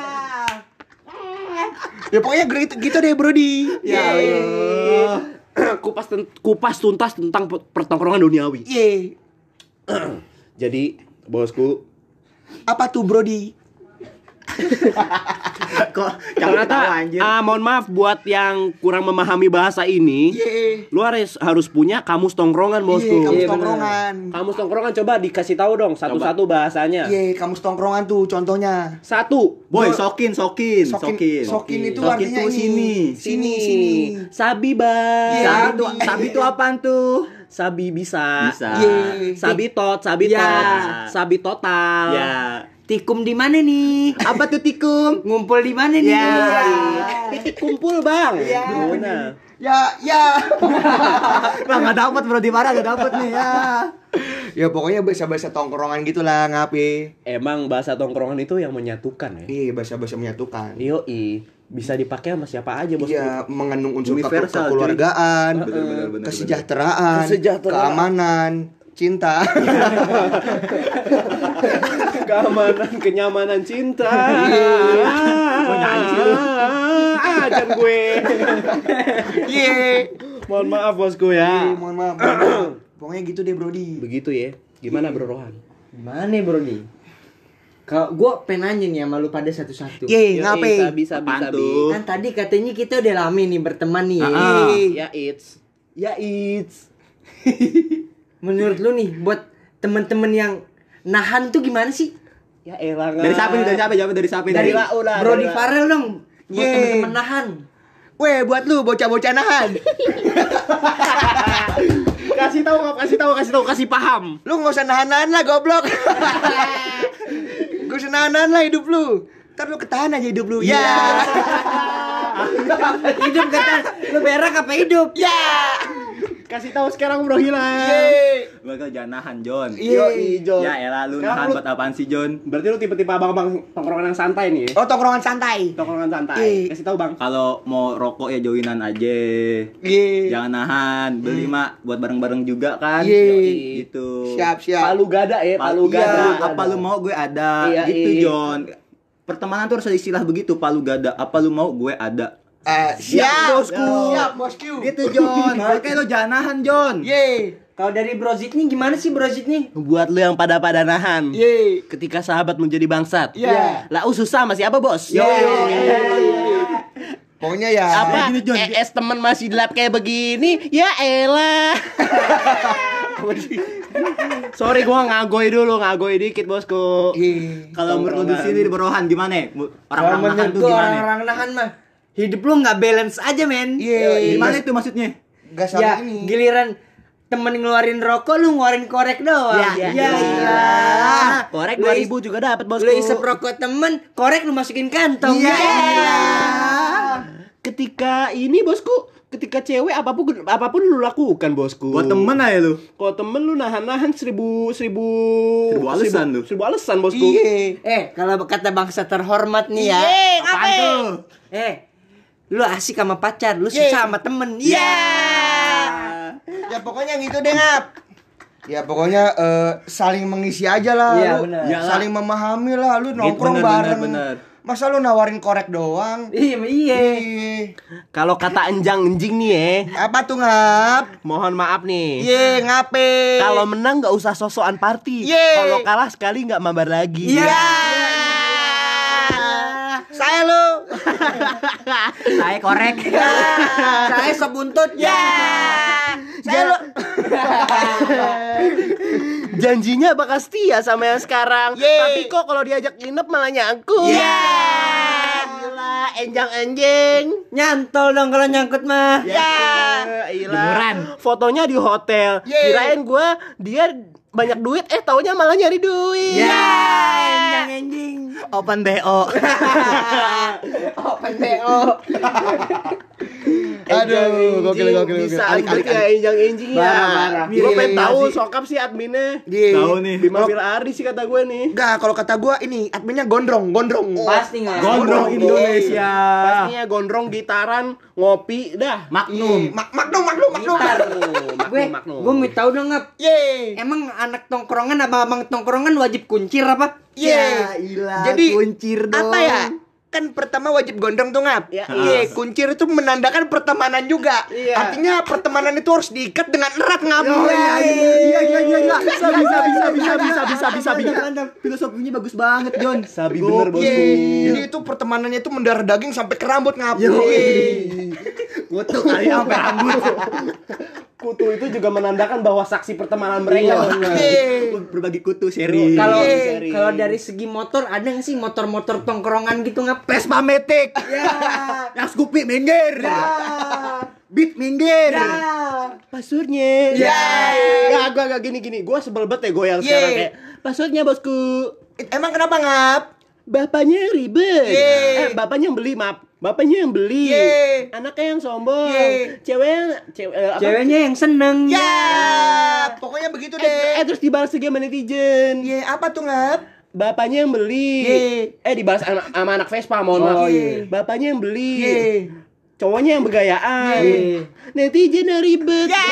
Ya pokoknya gitu, gitu deh Brody. Ya Allah. kupas ten- kupas tuntas tentang pe- pertongkrongan duniawi. Iya. Jadi bosku, Apa tuh Brody? Kok ternyata ah mohon maaf buat yang kurang memahami bahasa ini, Iya. lu harus harus punya kamus tongkrongan bosku. Iya, kamus Iya, bener. tongkrongan. Kamus tongkrongan coba dikasih tahu dong satu-satu bahasanya. Iya, kamus tongkrongan tuh contohnya. Satu. Boy, sokin, sokin, Sokin, sokin. sokin itu Sokin artinya tuh ini. sini. Sini, sini. Sabi bang. Iya. Sabi tuh, sabi tuh apaan tuh? Sabi bisa. Bisa. Iya. Sabi tot, sabi Ya. tot. Sabi total. Ya. Tikum di mana nih? Apa tuh tikum? Ngumpul di mana nih? Ya. Titik kumpul bang. Iya. Nah. Ya, ya. Lah enggak dapat bro di mana enggak dapat nih ya. Ya pokoknya bahasa-bahasa tongkrongan gitulah ngapain. Emang bahasa tongkrongan itu yang menyatukan ya. Iya, bahasa-bahasa menyatukan. Yoi, bisa dipakai sama siapa aja bosku. Iya, mengandung unsur ke- Universal, kekeluargaan, cuy. Bener, bener, bener, kesejahteraan, Kesejahteraan. keamanan, cinta. Keamanan, kenyamanan, cinta. Mau nyanyi sih lu. Ajan gue. Iya. Mohon maaf bosku ya. Iya, mohon maaf. mohon maaf. Pokoknya gitu deh, Brody. Begitu ya. Gimana Bro Rohan? Gimana bro nih? Kalau gua pengen nanya nih sama lu pada satu-satu. Iya, ngapain? Bisa, bisa, Apaan bisa. tuh? Kan tadi katanya kita udah lama nih berteman nih. ya. Ah. Ya it's. Ya it's. Menurut lu nih buat temen-temen yang nahan tuh gimana sih? Ya elah. Dari siapa nih? Dari siapa? Jawab dari siapa nih? Dari Lah, udah, Brody udah. Farel dong. Buat Yeay. temen-temen nahan. Weh, buat lu bocah-bocah nahan. Kasih tahu, kasih tahu, kasih tahu, kasih paham. Lu nggak usah nahan-nahan lah, goblok. Gak usah nahan-nahan lah hidup lu. Ntar lu ketahan aja hidup lu. Ya. Hidup kata lu berak apa hidup? Ya. Kasih tahu sekarang Bro Hilang. Yeay. Bakal jangan nahan, John. Yoi, John. Ya elah lu Sekarang nahan lu- buat apaan sih, John? Berarti lu tipe-tipe abang-abang tongkrongan yang santai nih ya? Oh, tongkrongan santai. Tongkrongan santai. Iya. Kasih tahu Bang. Kalau mau rokok ya joinan aja. Iya. Jangan nahan, beli mak buat bareng-bareng juga kan. Iya. Yoi, gitu. Siap, siap. Palu gada ya, palu Palu gada. gada. Apa lu mau gue ada. Iya, gitu, iya. John. Pertemanan tuh harus ada istilah begitu, palu gada. Apa lu mau gue ada. Eh, siap, bosku. Siap, bosku. Gitu, John. Makanya lu jangan nahan, John. Yeay. Kalau dari Bro Zid nih gimana sih Bro Zid nih? Buat lu yang pada-pada nahan. Yeay. Ketika sahabat menjadi bangsat. Iya. Lah susah sama siapa, Bos? Pokoknya ya. Apa? Gini, John. E S temen masih gelap kayak begini? Ya elah. Sorry gua ngagoy dulu, ngagoy dikit bosku. Iya. Kalau menurut lu di sini di Berohan gimana? Kalau Orang-orang nahan menurut tuh gua gimana? orang-orang nahan mah hidup lu nggak balance aja men. Iya. Gimana itu maksudnya? Gak sama Ya ini. giliran temen ngeluarin rokok lu ngeluarin korek doang. Ya, ya, iya. iya. Korek Lu dua is- ribu juga dapat bosku. Lu isep rokok temen, korek lu masukin kantong. Iya. Ya. Ketika ini bosku, ketika cewek apapun apapun lu lakukan bosku. Buat temen aja lu. Kalau temen lu nahan-nahan seribu seribu Seribu alasan lu. Seribu alasan bosku. Iya. Eh, kalau kata bangsa terhormat nih ya. Apaan tuh? Eh, lu asik sama pacar, lu Yeay. susah sama temen. Iya. Ya pokoknya gitu deh, Ngap. Ya pokoknya eh, saling mengisi aja lah. Iya, lu. benar. Ya, saling memahami lah. Lu nongkrong bener, bareng. bener, bener. Masa lu nawarin korek doang? Iya, iya. Ih, Kalau kata enjang-enjing nih ya, apa tuh ngap? mohon maaf nih. Ye ngape? Kalau menang nggak usah sosokan party. Ye. Kalau kalah sekali nggak mabar lagi. Iya. Saya lu. Saya korek. Saya sebuntut. Ya. Saya lu. Janjinya bakal setia sama yang sekarang. Ye. Tapi kok kalau diajak nginep malah nyangkut. Ya. Gila, enjang-enjing. Nyantol dong kalau nyangkut mah. Ya. Gila. Fotonya di hotel. Ye. Kirain gua dia banyak duit, eh taunya malah nyari duit. Ya. Enjang enjing. Open B O. Open B O. Aduh, gokil gokil gokil. Bisa Alik, alik alik, ya enjang-enjing ya. Parah, parah. Gue pengen Iya, tahu sih. sokap sih adminnya. Ye. Tahu nih. Bima Firari sih kata gue nih. Enggak, kalau kata gua ini adminnya gondrong, gondrong. Pasti nggak? Gondrong Indonesia. Pastinya gondrong gitaran, ngopi, dah. Magnum. Mak maknum, maknum, maknum. Gitar. Gue, Magnum. gue mau tahu dong ngap. Ye. Emang anak tongkrongan apa abang tongkrongan wajib kuncir apa? Ye. ilah, Jadi kuncir dong. apa ya? Kan pertama wajib gondrong tuh ngap. Ya. Iya, kuncir itu menandakan pertemanan juga. Iya. Artinya pertemanan itu harus diikat dengan erat ngap. Iya iya iya iya iya. Bisa bisa bisa bisa bisa bisa bisa bisa. Filosofinya bagus banget, John. Sabi bener bosku. Iya. Jadi itu pertemanannya itu mendarah daging sampai ke rambut ngap. Yoi. Kutu kali sampai rambut. Kutu itu juga menandakan bahwa saksi pertemanan mereka. Iya. Berbagi kutu seri. Kalau Seri. kalau dari segi motor ada nggak sih motor-motor tongkrongan gitu ngap? Vespa Matic. Ya. Yang Scoopy minggir. Beat minggir. Pasurnya. Ya. Gak, gua gak gini-gini. Gua sebel banget ya goyang Ye. sekarang kayak. Pasurnya bosku. Emang kenapa ngap? Bapaknya ribet. Ye. Eh, bapaknya yang beli, maaf. Bapaknya yang beli. Ye. Anaknya yang sombong. Ye. Ceweknya cewe, eh, apa? Ceweknya yang seneng. Ya, pokoknya begitu Eh, deh. eh, terus dibalas lagi sama netizen. Ye, apa tuh ngap? Bapaknya yang beli. Ye. Eh dibalas sama, sama anak Vespa, mohon Oh, maaf. iya. Bapaknya yang beli. Ye. Cowoknya yang bergayaan. Ye. Netizen yang ribet. Ya.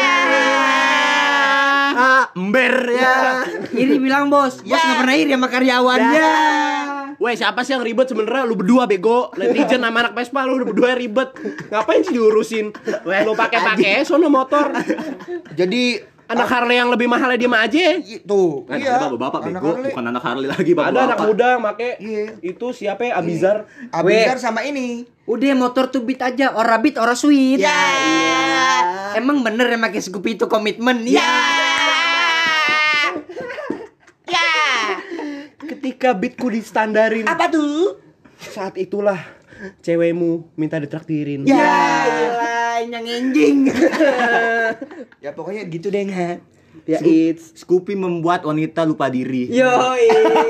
Ah, ember ya. Iri bilang bos, bos nggak pernah iri sama karyawannya. Weh, siapa sih yang ribet sebenarnya? Lu berdua bego. Netizen sama anak Vespa lu berdua yang ribet. Ngapain sih diurusin? Lu pakai-pakai sono motor. Jadi Anak Harley yang lebih mahalnya dia mah aja. itu. Kan Iya. bapak-bapak Anak bego, Harley. bukan anak Harley lagi, bapak. Ada anak muda yang make. Iya. Itu siapa ya? Abizar. Abizar sama ini. Udah motor tuh beat aja, ora beat ora sweet. Ya. Emang bener ya pakai Scoopy itu komitmen? Ya. Ya. Ketika beatku distandarin, Apa tuh? saat itulah cewekmu minta ditraktirin. Ya. Gila, yang enjing. Ya pokoknya gitu deh nggak. Ya it's Scoopy membuat wanita lupa diri. Yoi.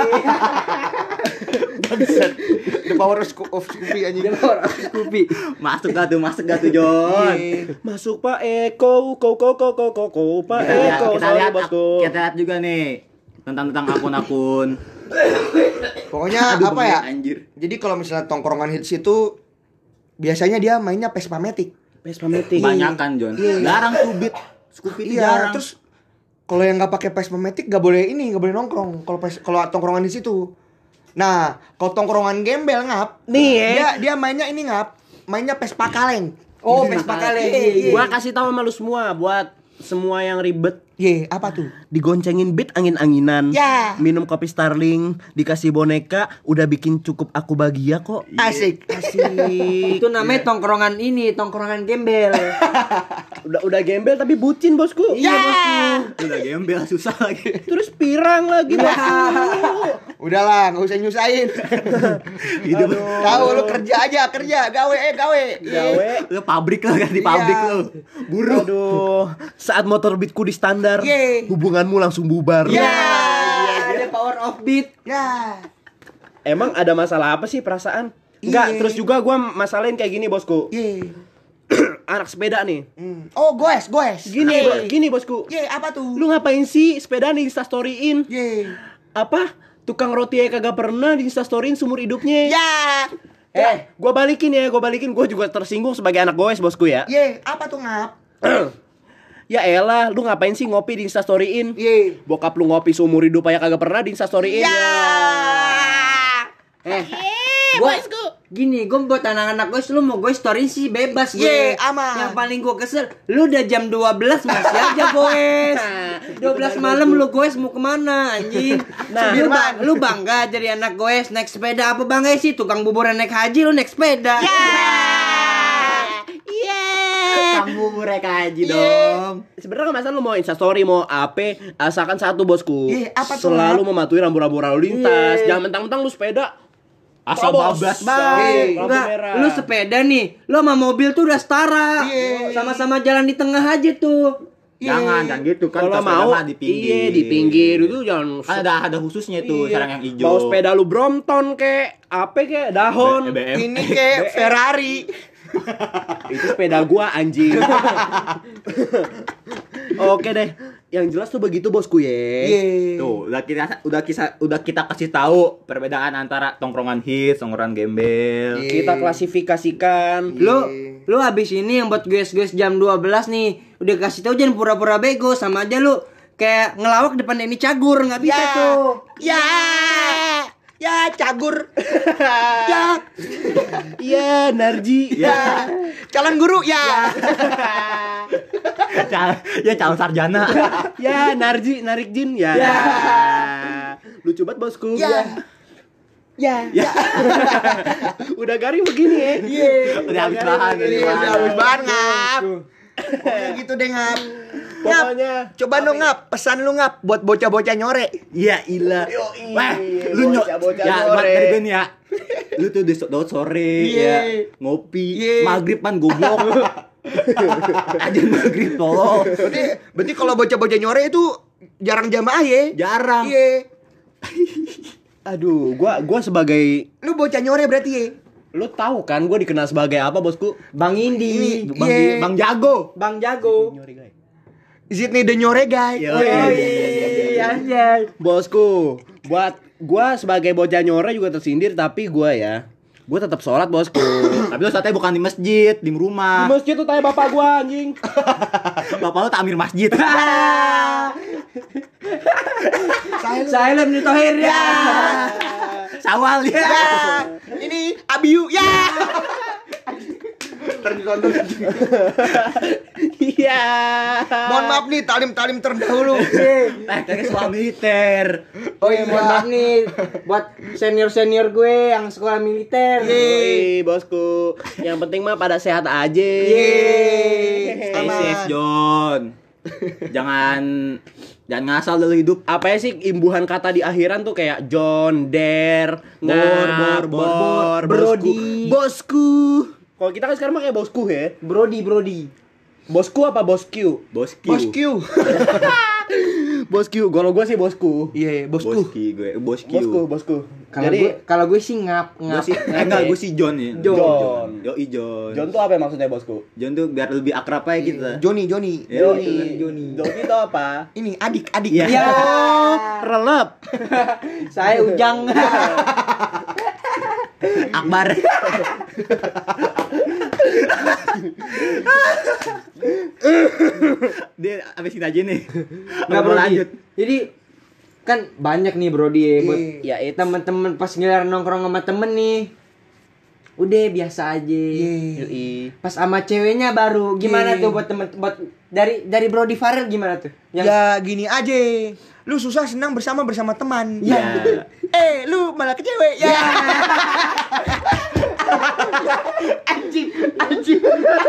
The power of Sco- of Scoopy anjing. Scoopy. Masuk gak tuh, masuk gak tuh, John? Iya. masuk Pak Eko, kau kau kau kau kau kau Pak Kita lihat, Eko, kita sorry lihat, bosku. kita lihat juga nih tentang tentang akun-akun. Pokoknya Aduh, apa ya? bengek, anjir. Jadi kalau misalnya tongkrongan hits itu biasanya dia mainnya Vespa Matic. Vespa Matic. Banyak kan, John? Iya. Jarang tuh beat Scoopy itu Iya, jarang. terus kalau yang nggak pakai Vespa Matic nggak boleh ini, nggak boleh nongkrong. Kalau pes- kalau tongkrongan di situ. Nah, kalau tongkrongan gembel ngap, Nih, ya. dia dia mainnya ini ngap, mainnya Vespa kaleng. Oh, Vespa kaleng. Iya, iya. Gua kasih tahu sama lu semua buat semua yang ribet. Ye, apa tuh? Digoncengin beat angin-anginan. Ya. Minum kopi Starling, dikasih boneka, udah bikin cukup aku bahagia kok. Asik. Asik. Itu namanya tongkrongan ini, tongkrongan gembel. udah udah gembel tapi bucin bosku. Ya. Udah gembel susah lagi. Terus pirang lagi bosku. Udahlah, nggak usah nyusahin. Hidup Tahu lu kerja aja, kerja, gawe eh gawe. Gawe. lu pabrik lah kan di pabrik Iya. lu. Buruh. Aduh, saat motor beatku di standar, Ye. hubunganmu langsung bubar. Ya. Ada power of beat. Ya. Emang ada masalah apa sih perasaan? Enggak, Iya. terus juga gua masalahin kayak gini bosku. Ye. Anak sepeda nih. Hmm. Oh, goes, goes. Gini, Ye. bo- gini bosku. Ye, apa tuh? Lu ngapain sih sepeda di Instastoryin? Ye. Apa? Tukang roti aja kagak pernah di Instastoryin seumur hidupnya. Ya. Eh, gua balikin ya, gua balikin. Gua juga tersinggung sebagai anak goes bosku ya. Ye, apa tuh ngap? Ya elah, lu ngapain sih ngopi di Instastoryin? Iya. Bokap lu ngopi seumur hidup aja kagak pernah di Instastoryin. Ya. Eh, gua gini, gue buat anak-anak gue, lu mau gue story sih bebas gue. Ye, aman. Yang paling gue kesel, lu udah jam dua belas masih aja goes. dua belas malam lu goes mau kemana anjing? Nah, lu, bang, lu bangga jadi anak goes naik sepeda apa bangga sih? Tukang bubur naik haji lu naik sepeda. Kamu bubur haji dong. Sebenarnya masa lu mau Instastory mau apa, asalkan satu bosku. Ye, apa tuh, Selalu Mak? mematuhi rambu-rambu lalu lintas. Jangan mentang-mentang lu sepeda Asal bablas banget. Enggak, lu sepeda nih, lu sama mobil tuh udah setara. Iya. Sama-sama jalan di tengah aja tuh. Jangan, jangan gitu kan. Kalau sepeda mau mah di pinggir. Iya, di pinggir itu jangan Kan ada ada khususnya tuh, Iya. sarang yang hijau. Mau sepeda lu Brompton kek, apa kek, dahon. B M. Ini kayak Ferrari. Itu sepeda gua anjing. Oke deh, yang jelas tuh begitu bosku ya. Iya. Tuh, udah kita udah kita udah kita kasih tahu perbedaan antara tongkrongan hits, tongkrongan gembel. Iya. Kita klasifikasikan. Lu lu habis ini yang buat guys-guys jam dua belas nih, udah kasih tahu jangan pura-pura bego, sama aja lu kayak ngelawak depan Denny Cagur, nggak bisa Ya. tuh. Ya. Ya, cagur. Ya. Iya, Narji. Ya. Calon guru ya. Cal- ya calon sarjana. Ya, Narji, narik jin ya. Ya. Lucu banget bosku. Ya. Ya. Ya. Udah garing begini ya. Iya. Udah habis bahan, Iya, habis udah bahan. habis bahan ngap. Pokoknya gitu deh ngap. Ngap. Pokoknya Coba dong ngap, pesan lu ngap buat bocah-bocah nyore. Iya, ilah. Wah, lu nyok. bocah-bocah Ya, buat sore. dari gue nih ya. Lu tuh di so- daud sore Iya. ya, ngopi, Iya. maghrib kan goblok. Aja maghrib tolong. Berarti berarti kalau bocah-bocah nyore itu jarang jamaah ya? Jarang. Iya. aduh, gua gua sebagai Lu bocah nyore berarti ya? lu tahu kan gua dikenal sebagai apa bosku? Bang Indi, Bang, Iya. Bang Jago. Bang Jago. Sydney the nyore guy. Yo. Oh iya, iya. Bosku, buat gua sebagai bocah nyore juga tersindir, tapi gua ya, gua tetap sholat bosku. Tapi lu saatnya bukan di masjid, di Di rumah. masjid tuh tanya bapak gua anjing. Bapak lu takmir masjid. Silent di Tohir ya. Sawal ya. Ya. Ini Abiu ya. Iya. Mohon maaf nih talim-talim terdahulu. Eh, kayak sekolah militer. Oh iya, mohon maaf nih buat senior-senior gue yang sekolah militer. Yoi, bosku. Yang penting mah pada sehat aja. Yeay. Stay Aman. safe, John. Jangan jangan ngasal dalam hidup. Apa ya sih imbuhan kata di akhiran tuh kayak John, Der, Bor, Ngap, bor, bor, Brody. Bosku. Kalau kita kan sekarang mah kayak bosku ya. Brody, Brody. Bosku apa bosku? Bosku. Bos Q. Bosku. Kalau gue sih bosku. Iya, bosku. Boski gue, Bosku. Bosku, bosku. Kalau Jadi gue kalau gue sih ngap Gue ngap. sih, eh, enggak, gue sih John ya. John. Yoi John. John tuh apa ya maksudnya bosku? John tuh biar lebih akrab aja kita. Joni, Joni. Yoi. Johnny. Johnny itu apa? Ini adik, adik. Iya. Ya. Relep. Saya Ujang. Akbar. Dia abisin aja nih. Nggak Mau Brody. lanjut. Jadi kan banyak nih Brody ya buat Ya, it's- temen-temen pas ngeliat nongkrong sama temen nih. Udah biasa aja. Yoi. Pas sama ceweknya baru gimana Iya. tuh buat temen buat dari dari Brody Farel gimana tuh? Ya gini aja. Lu susah senang bersama bersama teman. Ya. Eh, lu malah ke cewek. Ya. Anjing, anjing.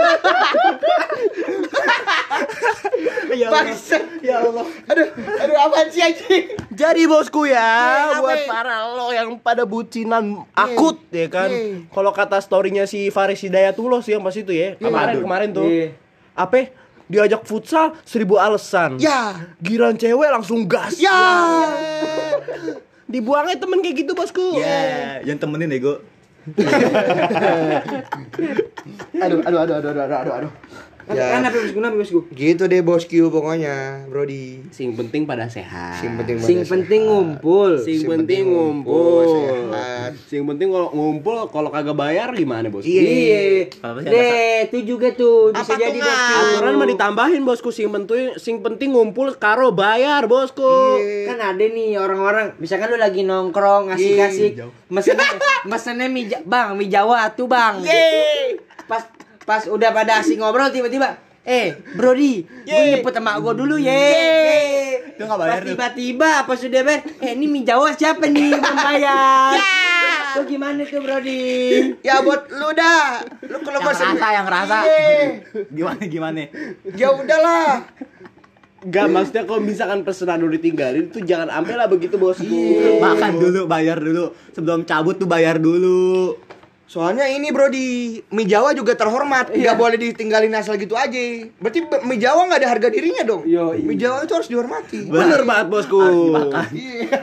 Ya Allah. Bangsa. Ya Allah. Aduh, aduh apaan sih anjing? Jadi bosku ya, Iya, buat apa? para lo yang pada bucinan akut ya kan. Iya. Kalau kata storynya si Faris Hidayatullah sih yang pas itu ya. Kemarin Aduh. kemarin tuh. Iya. Apa? Diajak futsal seribu alasan. Ya. Giran cewek langsung gas. Ya. Dibuangnya temen kayak gitu bosku. Ya, jangan temenin ego. Aduh, aduh, aduh, aduh, aduh, aduh, aduh, aduh. Ya. Kenapa bosku? Kenapa bosku? Gitu deh bosku pokoknya, Brody. Sing penting pada sehat. Sing penting Sing pada penting sehat. ngumpul. Sing Sing penting penting ngumpul. ngumpul, sehat. Sing penting kalau ngumpul kalau kagak bayar gimana, Bos? Iya. Kalau masih ada Deh, itu juga tuh bisa Apa jadi tuh, bosku. Ngan? Aturan mah ditambahin, Bosku. Sing penting sing penting ngumpul karo bayar, Bosku. Kan ada nih orang-orang, misalkan lu lagi nongkrong asik-asik, mesennya mesennya mie Ja- bang, mie Jawa tuh bang. Pas pas udah pada asik ngobrol tiba-tiba, eh Brody, gue nyebut sama gue dulu ye. Itu nggak bayar Pas tuh. tiba-tiba pas sudah bayar, eh ini mie Jawa siapa nih belum bayar? Tuh gimana tuh Brody? Ya buat lu dah. Lu kalau Yang masih rasa, yang rasa. Iya. Gimana gimana? Ya udahlah. Gak, maksudnya kalau misalkan pesanan lu ditinggalin tuh jangan ambil lah begitu, Bosku. Makan dulu, bayar dulu. Sebelum cabut tuh bayar dulu. Soalnya ini Brody, mie Jawa juga terhormat, nggak boleh ditinggalin asal gitu aja. Berarti be- mie Jawa nggak ada harga dirinya dong. Yo, iya. Mie Jawa itu harus dihormati. Bener banget, Bosku. Iya.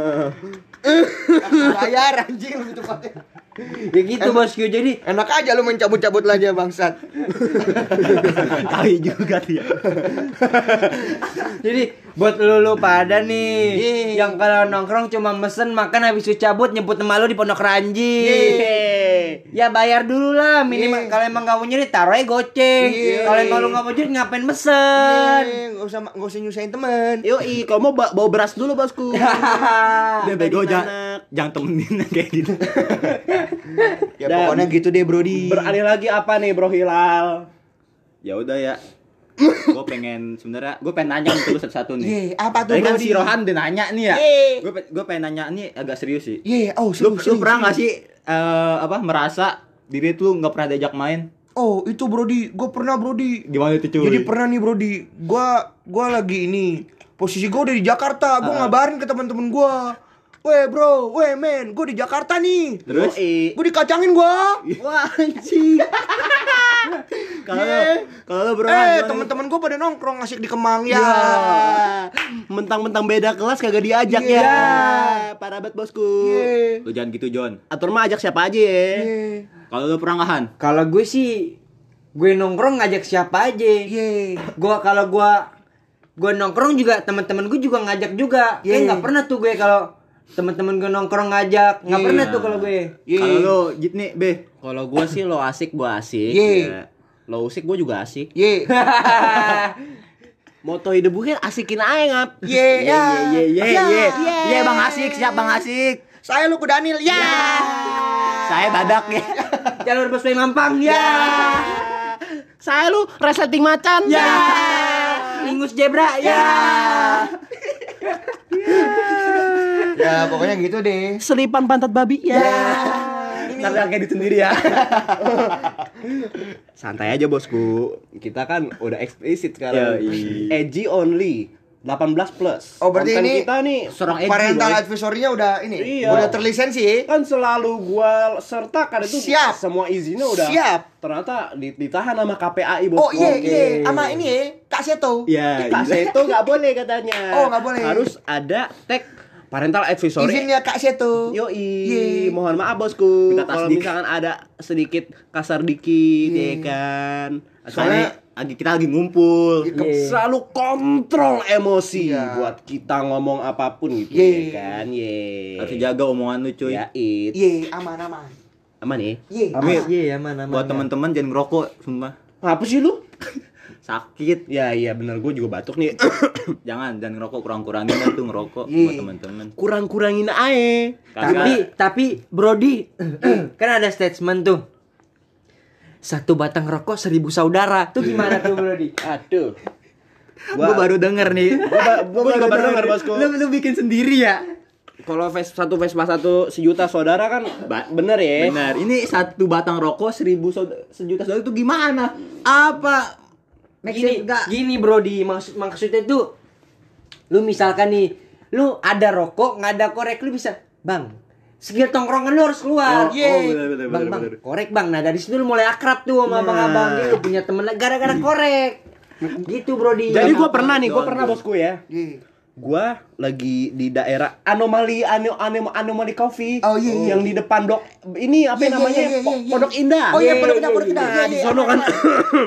Bayar anjing lebih tepatnya. Ya gitu bosku, jadi Enak aja lu main cabut-cabut aja bangsat. Kali juga dia. Jadi buat lu lu pada nih Iya. yang kalau nongkrong cuma mesen makan habis itu cabut nyebut nama lu di Pondok Ranji. Ya bayar dulu lah minimal. Iya. Kalau emang gak mau nyari taruh aja goceng. Iya. Kalau emang lu gak mau nyari ngapain mesen? Nggak usah nggak usah nyusahin temen. Yoi, kalau mau ba- bawa beras dulu, Bosku. Dia bego Tadi jangan anak. jangan temenin kayak gitu. Ya Dan pokoknya gitu deh Brody. Beralih lagi apa nih, Bro Hilal? Ya udah ya. Gue pengen sebenarnya gue pengen nanya nih terus satu-satu nih. Ye, apa tuh Tadi kan Brody? si Rohan udah nanya nih ya. Ye. Gue gue pengen nanya nih agak serius sih. Ye, oh Lu, seru, lu seru, pernah seru. nggak sih eh, apa merasa diri tuh nggak pernah diajak main? Oh itu Brody, gue pernah Brody. Gimana itu cuy? Jadi pernah nih Brody, gua gua lagi ini posisi gua udah di Jakarta, gua ngabarin ke teman-teman gua. Weh bro, weh men, gua di Jakarta nih. Terus? Yoi. Gua dikacangin gua. Wah, anjing. Kalau Ye. lu kalau lu bro, Eh gimana? teman-teman gua pada nongkrong asik di Kemang ya. Ya. Mentang-mentang beda kelas kagak diajak Iya. ya. Parah banget, Bosku. Ye. Lu jangan gitu John. Atur mah ajak siapa aja ya. Ye. Kalau lu pernah nggak Han? Kalau gue sih gue nongkrong ngajak siapa aja. Ye. Gua kalau gua gua nongkrong juga teman-teman gue juga ngajak juga. Kayak Ye. nggak pernah tuh gue kalau teman-teman gue nongkrong ngajak, nggak Ye. pernah tuh kalau gue. Ye. Kalau lu Jit nih, Be. Kalau gua sih lo asik, gua asik. Ye. Ya. Lo usik gua juga asik. Ye. Moto hidup gue kan asikin aja ngap. Ye. Ya. Ye ye Ya. ye. Ye Bang Asik, siap Bang Asik. Saya lu Kudanil. Ya. Saya badak ya. Jalur busway Mampang ya. Saya lu resleting macan. Ya. Ingus zebra ya. Ya pokoknya gitu deh. Selipan pantat babi ya. Tapi kayak gitu sendiri ya. Santai aja, Bosku. Kita kan udah eksplisit sekarang. Yoi. Edgy only. delapan belas plus. Oh, berarti Konten ini kita nih Seorang edgy, Parental boy. advisory-nya udah ini, Iya. udah terlisensi ya. kan selalu gua sertakan itu Siap. semua izinnya udah Siap. ternyata di- ditahan sama K P A I, Bosku. Oh iya iya, sama ini ya, Kak Seto. Iya. Kak Seto nggak boleh katanya. Oh, nggak boleh. Harus ada tag parental advisory. Izinnya Kak Seto. Yoi, Ye. mohon maaf Bosku. Minta Kalau tasdik. misalkan ada sedikit kasar dikit, Ye. ya kan. Soalnya lagi kita lagi ngumpul. Iya. Selalu kontrol emosi Iya. buat kita ngomong apapun gitu, Ye. ya kan. Ye. Harus jaga omongan lu cuy. Ya, it. Ye, aman aman. Aman ya? Ye. Amin. aman. Iya, aman aman. Buat teman-teman jangan ngerokok, sumpah. Apa sih lu? Sakit. Ya iya bener, gue juga batuk nih. Jangan jangan ngerokok, kurang-kurangin lah tuh ngerokok Iya. buat teman-teman. Kurang-kurangin aja. Tapi tapi Brody kan ada statement tuh. Satu batang rokok seribu saudara. Tuh gimana tuh Brody? Aduh. Gua baru denger nih. Gua, gua juga baru denger, Bosku. Lu lu bikin sendiri ya? Kalau ves, satu Vespa satu sejuta saudara kan ba- bener ya. Benar. Ini satu batang rokok seribu saudara, sejuta saudara itu gimana? Apa? Gini, gini Brody, maksud maksudnya tuh lu misalkan nih, lu ada rokok, nggak ada korek, lu bisa, Bang, skill tongkrongan lu harus keluar. Oh, Yeay. oh, bener, bener, bang, bener, bang, bener. korek bang. Nah dari situ lu mulai akrab tuh sama abang-abang. Dia lu punya temen lagi gara-gara korek. Gitu Brody. Jadi gue Apa? pernah nih, gue John, pernah John. Bosku ya. Ye. Gua lagi di daerah anomali ano, ano, anomali coffee Oh, iya, iya. yang di depan dok ini apa Iya, iya, namanya iya, iya, Po- iya. Pondok Indah. Oh iya, Ye, Pondok ye, Indah, Pondok ye, Indah. Nah, Iya, di iya, sono kan aman, aman.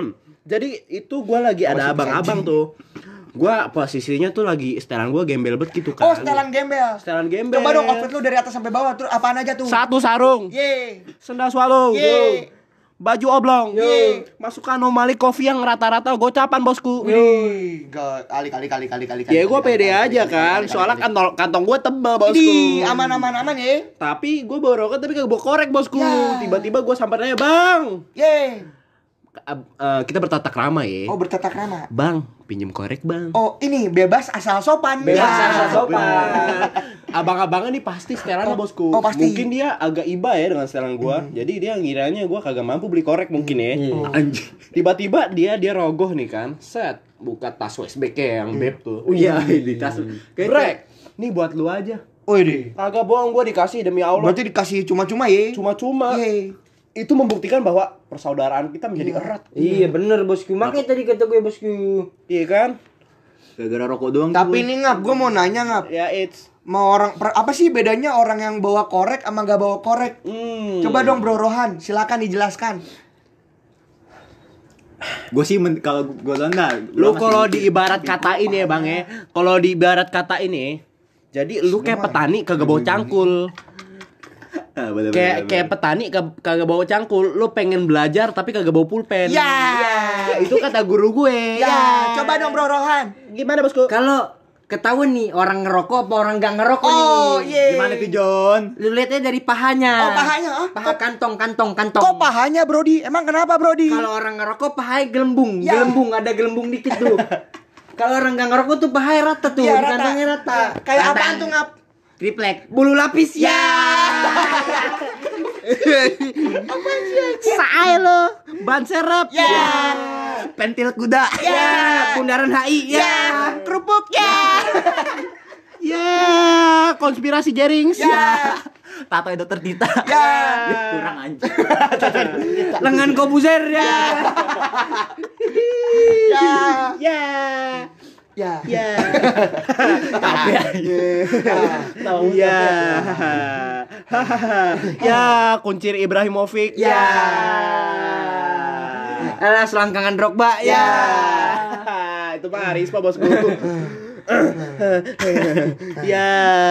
Jadi itu gue lagi ada abang-abang tuh. Gue posisinya tuh lagi setelan gue gembel bet gitu kan. Oh, setelan gembel. Setelan gembel. Coba dong outfit lu dari atas sampai bawah terus apaan aja tuh? Satu sarung. Ye. Sendal swallow. Ye. Baju oblong. Ye. Masuk anomali kopi yang rata-rata gocapan bosku. Wih, gak kali kali kali kali kali. Ya gue pede aja kan. Soalnya kantong kantong gue tebal bosku. Di aman aman aman ya. Tapi gue bawa rokok tapi kagak bawa korek bosku. Ya. Tiba-tiba gue sampai nanya, "Bang, Ye. Ab- eh, kita bertatak ramah ya. Oh, bertatak ramah. Bang, pinjem korek bang." Oh, ini bebas asal sopan. Bebas Ya. asal sopan. Abang-abangnya nih pasti setelan Oh, bosku. oh, pasti. Mungkin dia agak iba ya dengan setelan gua. Jadi dia ngiranya gua kagak mampu beli korek mungkin ya. Anjing. Tiba-tiba dia dia rogoh nih kan. Set, buka tas W S B K yang beb tuh. Oh iya, di tas. Brek, nih buat lu aja. Oh, ini. Kagak bohong gua dikasih demi Allah. Berarti dikasih cuma-cuma ya. Cuma-cuma. Ye. Itu membuktikan bahwa persaudaraan kita menjadi erat. Iya bener bosku. Makanya tadi kata gue bosku. Iya kan? Gara-gara rokok doang. Tapi ini ngap, gue mau nanya ngap. Ya it's Mau orang per- apa sih bedanya orang yang bawa korek sama gak bawa korek? hmm. Coba dong Bro Rohan, silakan dijelaskan. Gue sih men- kalau gue enggak. Lu kalau diibarat katain ya bang ya, kalau diibarat katain ya, jadi lu kayak petani kagak bawa cangkul, Ah, bener, kayak bener, kayak bener. petani kag- kagak bawa cangkul, lu pengen belajar tapi kagak bawa pulpen. Ya. Ya, itu kata guru gue. Ya, coba dong Bro Rohan. Gimana bosku? Kalau ketahuan nih orang ngerokok apa orang gak ngerokok Oh, nih. iya. Gimana tuh John? Lu lihatnya dari pahanya. Oh, pahanya, ah? Paha kantong, kantong, kantong. Kok pahanya Brody? Emang kenapa Brody? Kalau orang ngerokok pahanya gelembung, Ya. gelembung ada gelembung dikit tuh. Kalau orang gak ngerokok tuh pahanya rata tuh, Iya, di rata. kantongnya rata. Ya, kayak Rata. apaan tuh ngap? Triplek, bulu lapis ya. Sae lo, ban serep. Ya. Pentil kuda. Ya, bundaran H I ya. Ya, kerupuk ya. Ya, konspirasi Jerings. Ya. Tato dokter Tita. Ya. Kurang anjing. Lengan Kobuzer ya. Ya. Ya. Ya. Ya. Tapi Ya. Ya, kuncir Ibrahimovic. Ya. Alah, selangkangan Drogba ya. Itu Pak Arispa bosku. Ya.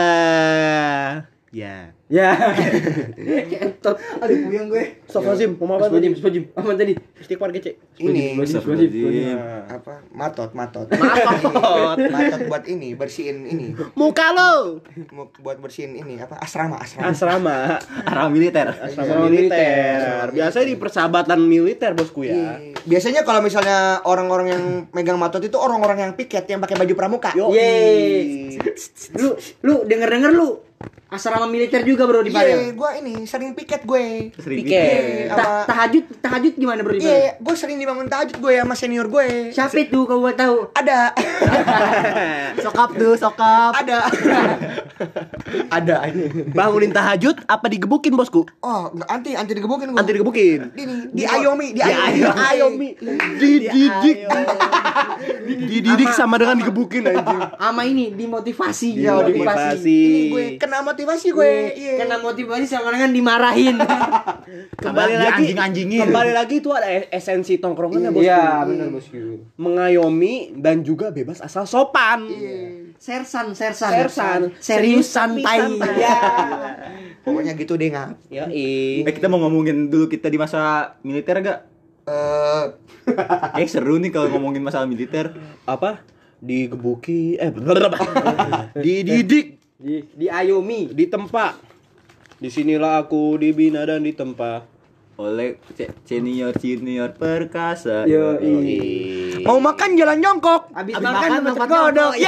Ya. Ya. Kentot. Aduh, puyeng gue. Astagfirullahaladzim, mau apa Sepojim, tadi? sepojim. Apa tadi? Istighfar kece. Ini Astagfirullahaladzim. apa? Matot, matot. Matot. Matot buat ini, bersihin ini. Muka lo. Mau buat bersihin ini apa? Asrama, asrama. Asrama. Arah militer. Asrama militer. Biasanya di persahabatan militer bosku ya. Iya. Biasanya kalau misalnya orang-orang yang megang matot itu orang-orang yang piket yang pakai baju pramuka. Yo. Yeay. Lu lu denger-denger lu asrama militer juga bro di Iya, Padang. gue ini sering piket gue. Sering Piket. Sama- Ta- tahajud, tahajud gimana bro di Padang? Iya, gue sering dibangun tahajud gue sama senior gue. Siapa itu kau buat tahu? Ada, Sokap tuh, sokap. ada, ada ini. Bangunin tahajud apa digebukin bosku? Oh, nggak, anti, anti digebukin gue. Anti digebukin. Ini, di ayomi, di Di ayomi, ayomi. Dididik. Dididik sama dengan digebukin anjing. Sama ini dimotivasi. Ya, Motivasi. Ini gue kena motivasi gue. Iya. Kena motivasi sama dengan dimarahin. Kembali Di lagi anjing-anjingin. Kembali lagi itu ada esensi tongkrongannya bosku. Iya, benar bosku. Mengayomi dan juga bebas asal sopan. Sersan, sersan. Sersan. Serius Tapi santai. santai. Ya. Pokoknya gitu deh ngap. Ya Eh kita mau ngomongin dulu kita di masa militer gak? Eh, Eh seru nih kalau ngomongin masalah militer. apa? Digebuki eh dididik, Di, di Ayomi. ditempa. Disinilah aku dibina dan ditempa. Oleh ce- senior senior perkasa. Yo, mau makan jalan jongkok. Abis, Abis makan, makan, lompat lompat kodok. Ya.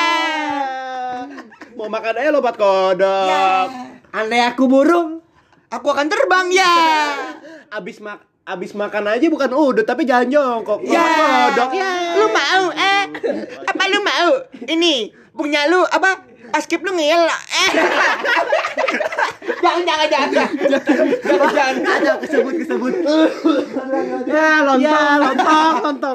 Mau makan aja lompat kodok. Ya. Andai aku burung. Aku akan terbang ya. Abis mak abis makan aja bukan udut tapi jalan jongkok. Ya. Lompat kodok ya. Lu mau eh? Apa lu mau? Ini punya lu apa? Askip lu ngel. Eh. jangan jangan jangan. Jangan jangan. Ada kesebut kesebut. Ya lontong, ya, lontong, lontong.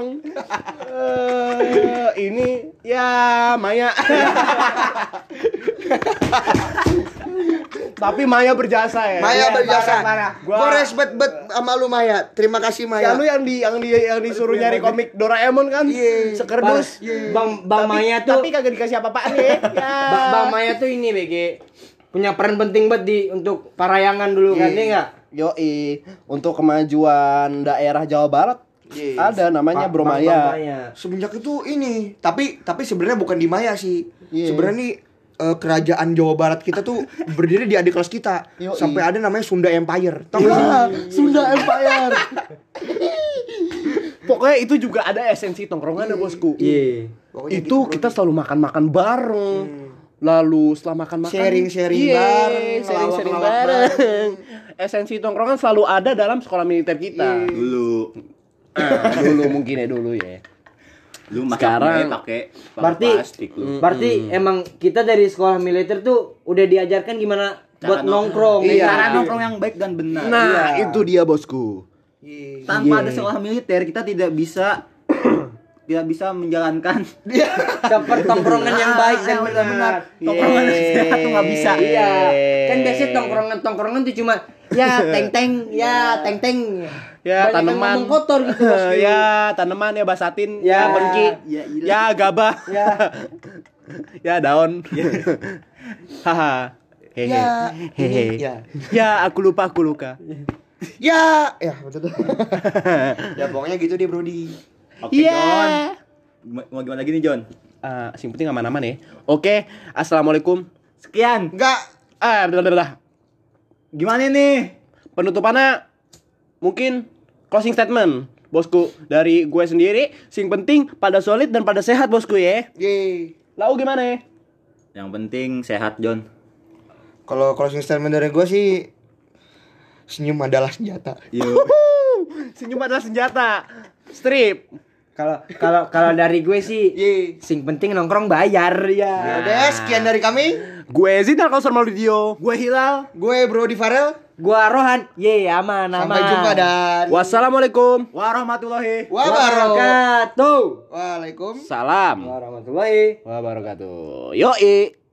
Eh, ini ya Maya. Tapi Maya berjasa ya. Maya Iya, berjasa. parah, parah. Gua Gua- respect bet sama lu Maya. Terima kasih Ya Maya. lu yang di yang di yang disuruh nyari komik Doraemon kan? Iya. Sekerdus. Bang Bang Tapi- Maya tuh Tapi kagak dikasih apa-apaan ya. Ya. Ba- Bang Maya tuh ini B G punya peran penting banget di untuk parayangan dulu kan ya enggak? Yoi, untuk kemajuan daerah Jawa Barat Iya. ada namanya Bro Bang- Bang Maya. Maya. Semenjak itu ini, tapi tapi sebenarnya bukan di Maya sih. Iya. Sebenarnya nih eh, kerajaan Jawa Barat kita tuh berdiri di adik kelas kita. Yoi. Sampai ada namanya Sunda Empire. Tahu nggak sih? Ya, Sunda Empire. Pokoknya itu juga ada esensi tongkrongan ya bosku. Iya. Pokoknya Itu gitu, kita selalu makan-makan bareng. Lalu setelah makan-makan Sharing-sharing Iya, bareng, sharing-sharing ngelawak-ngelawak bareng. Esensi tongkrongan selalu ada dalam sekolah militer kita. Dulu. Ah, dulu mungkin ya dulu ya. Lu Sekarang- pakai pakai Berarti plastik lu. berarti emang kita dari sekolah militer tuh udah diajarkan gimana buat nongkrong. Iya. ya kan? Cara nongkrong yang baik dan benar. Nah, itu dia bosku. Tanpa ada sekolah militer kita tidak bisa tidak bisa menjalankan Dapat tongkrongan yang baik dan Ah, benar. tongkrongan Iya. sehat tuh nggak bisa. Iya. Kan biasanya tongkrongan-tongkrongan tuh cuma ya teng-teng, ya teng-teng. Ya, Banyak yang tanaman. ngomong kotor gitu. bosku. Ya, tanaman ya basatin, Ya. ya bengki, Ya, iya. ya gabah, Ya. ya daun. Haha. Hehe. Ya, Hehe. ya. Ya, aku lupa, aku luka. Ya, ya betul. Ya pokoknya gitu deh Brody. Oke, Iya. John. Gima- Mau gimana lagi nih, John? Ah, sing penting aman-aman ya. Oke, assalamualaikum. Sekian. Enggak. Ah, betul betul. Gimana nih? Penutupannya mungkin closing statement, bosku. Dari gue sendiri, sing penting pada solid dan pada sehat, bosku ya. Yeay. Lau gimana ya? Yang penting sehat, John. Kalau closing statement dari gue sih senyum adalah senjata. Yuk. Senyum adalah senjata. Strip. Kalau kalau kalau dari gue sih Yeay. sing penting nongkrong bayar ya. Udah, sekian dari kami. Gue Zidal Kausar Mauludio. Gue Hilal. Gue Brody Farel. Gua Rohan. Ye, aman aman. Sampai jumpa dan Wassalamualaikum. Warahmatullahi. wabarakatuh. wabarakatuh. Waalaikumsalam. Salam. Warahmatullahi Wabarakatuh. Yoi.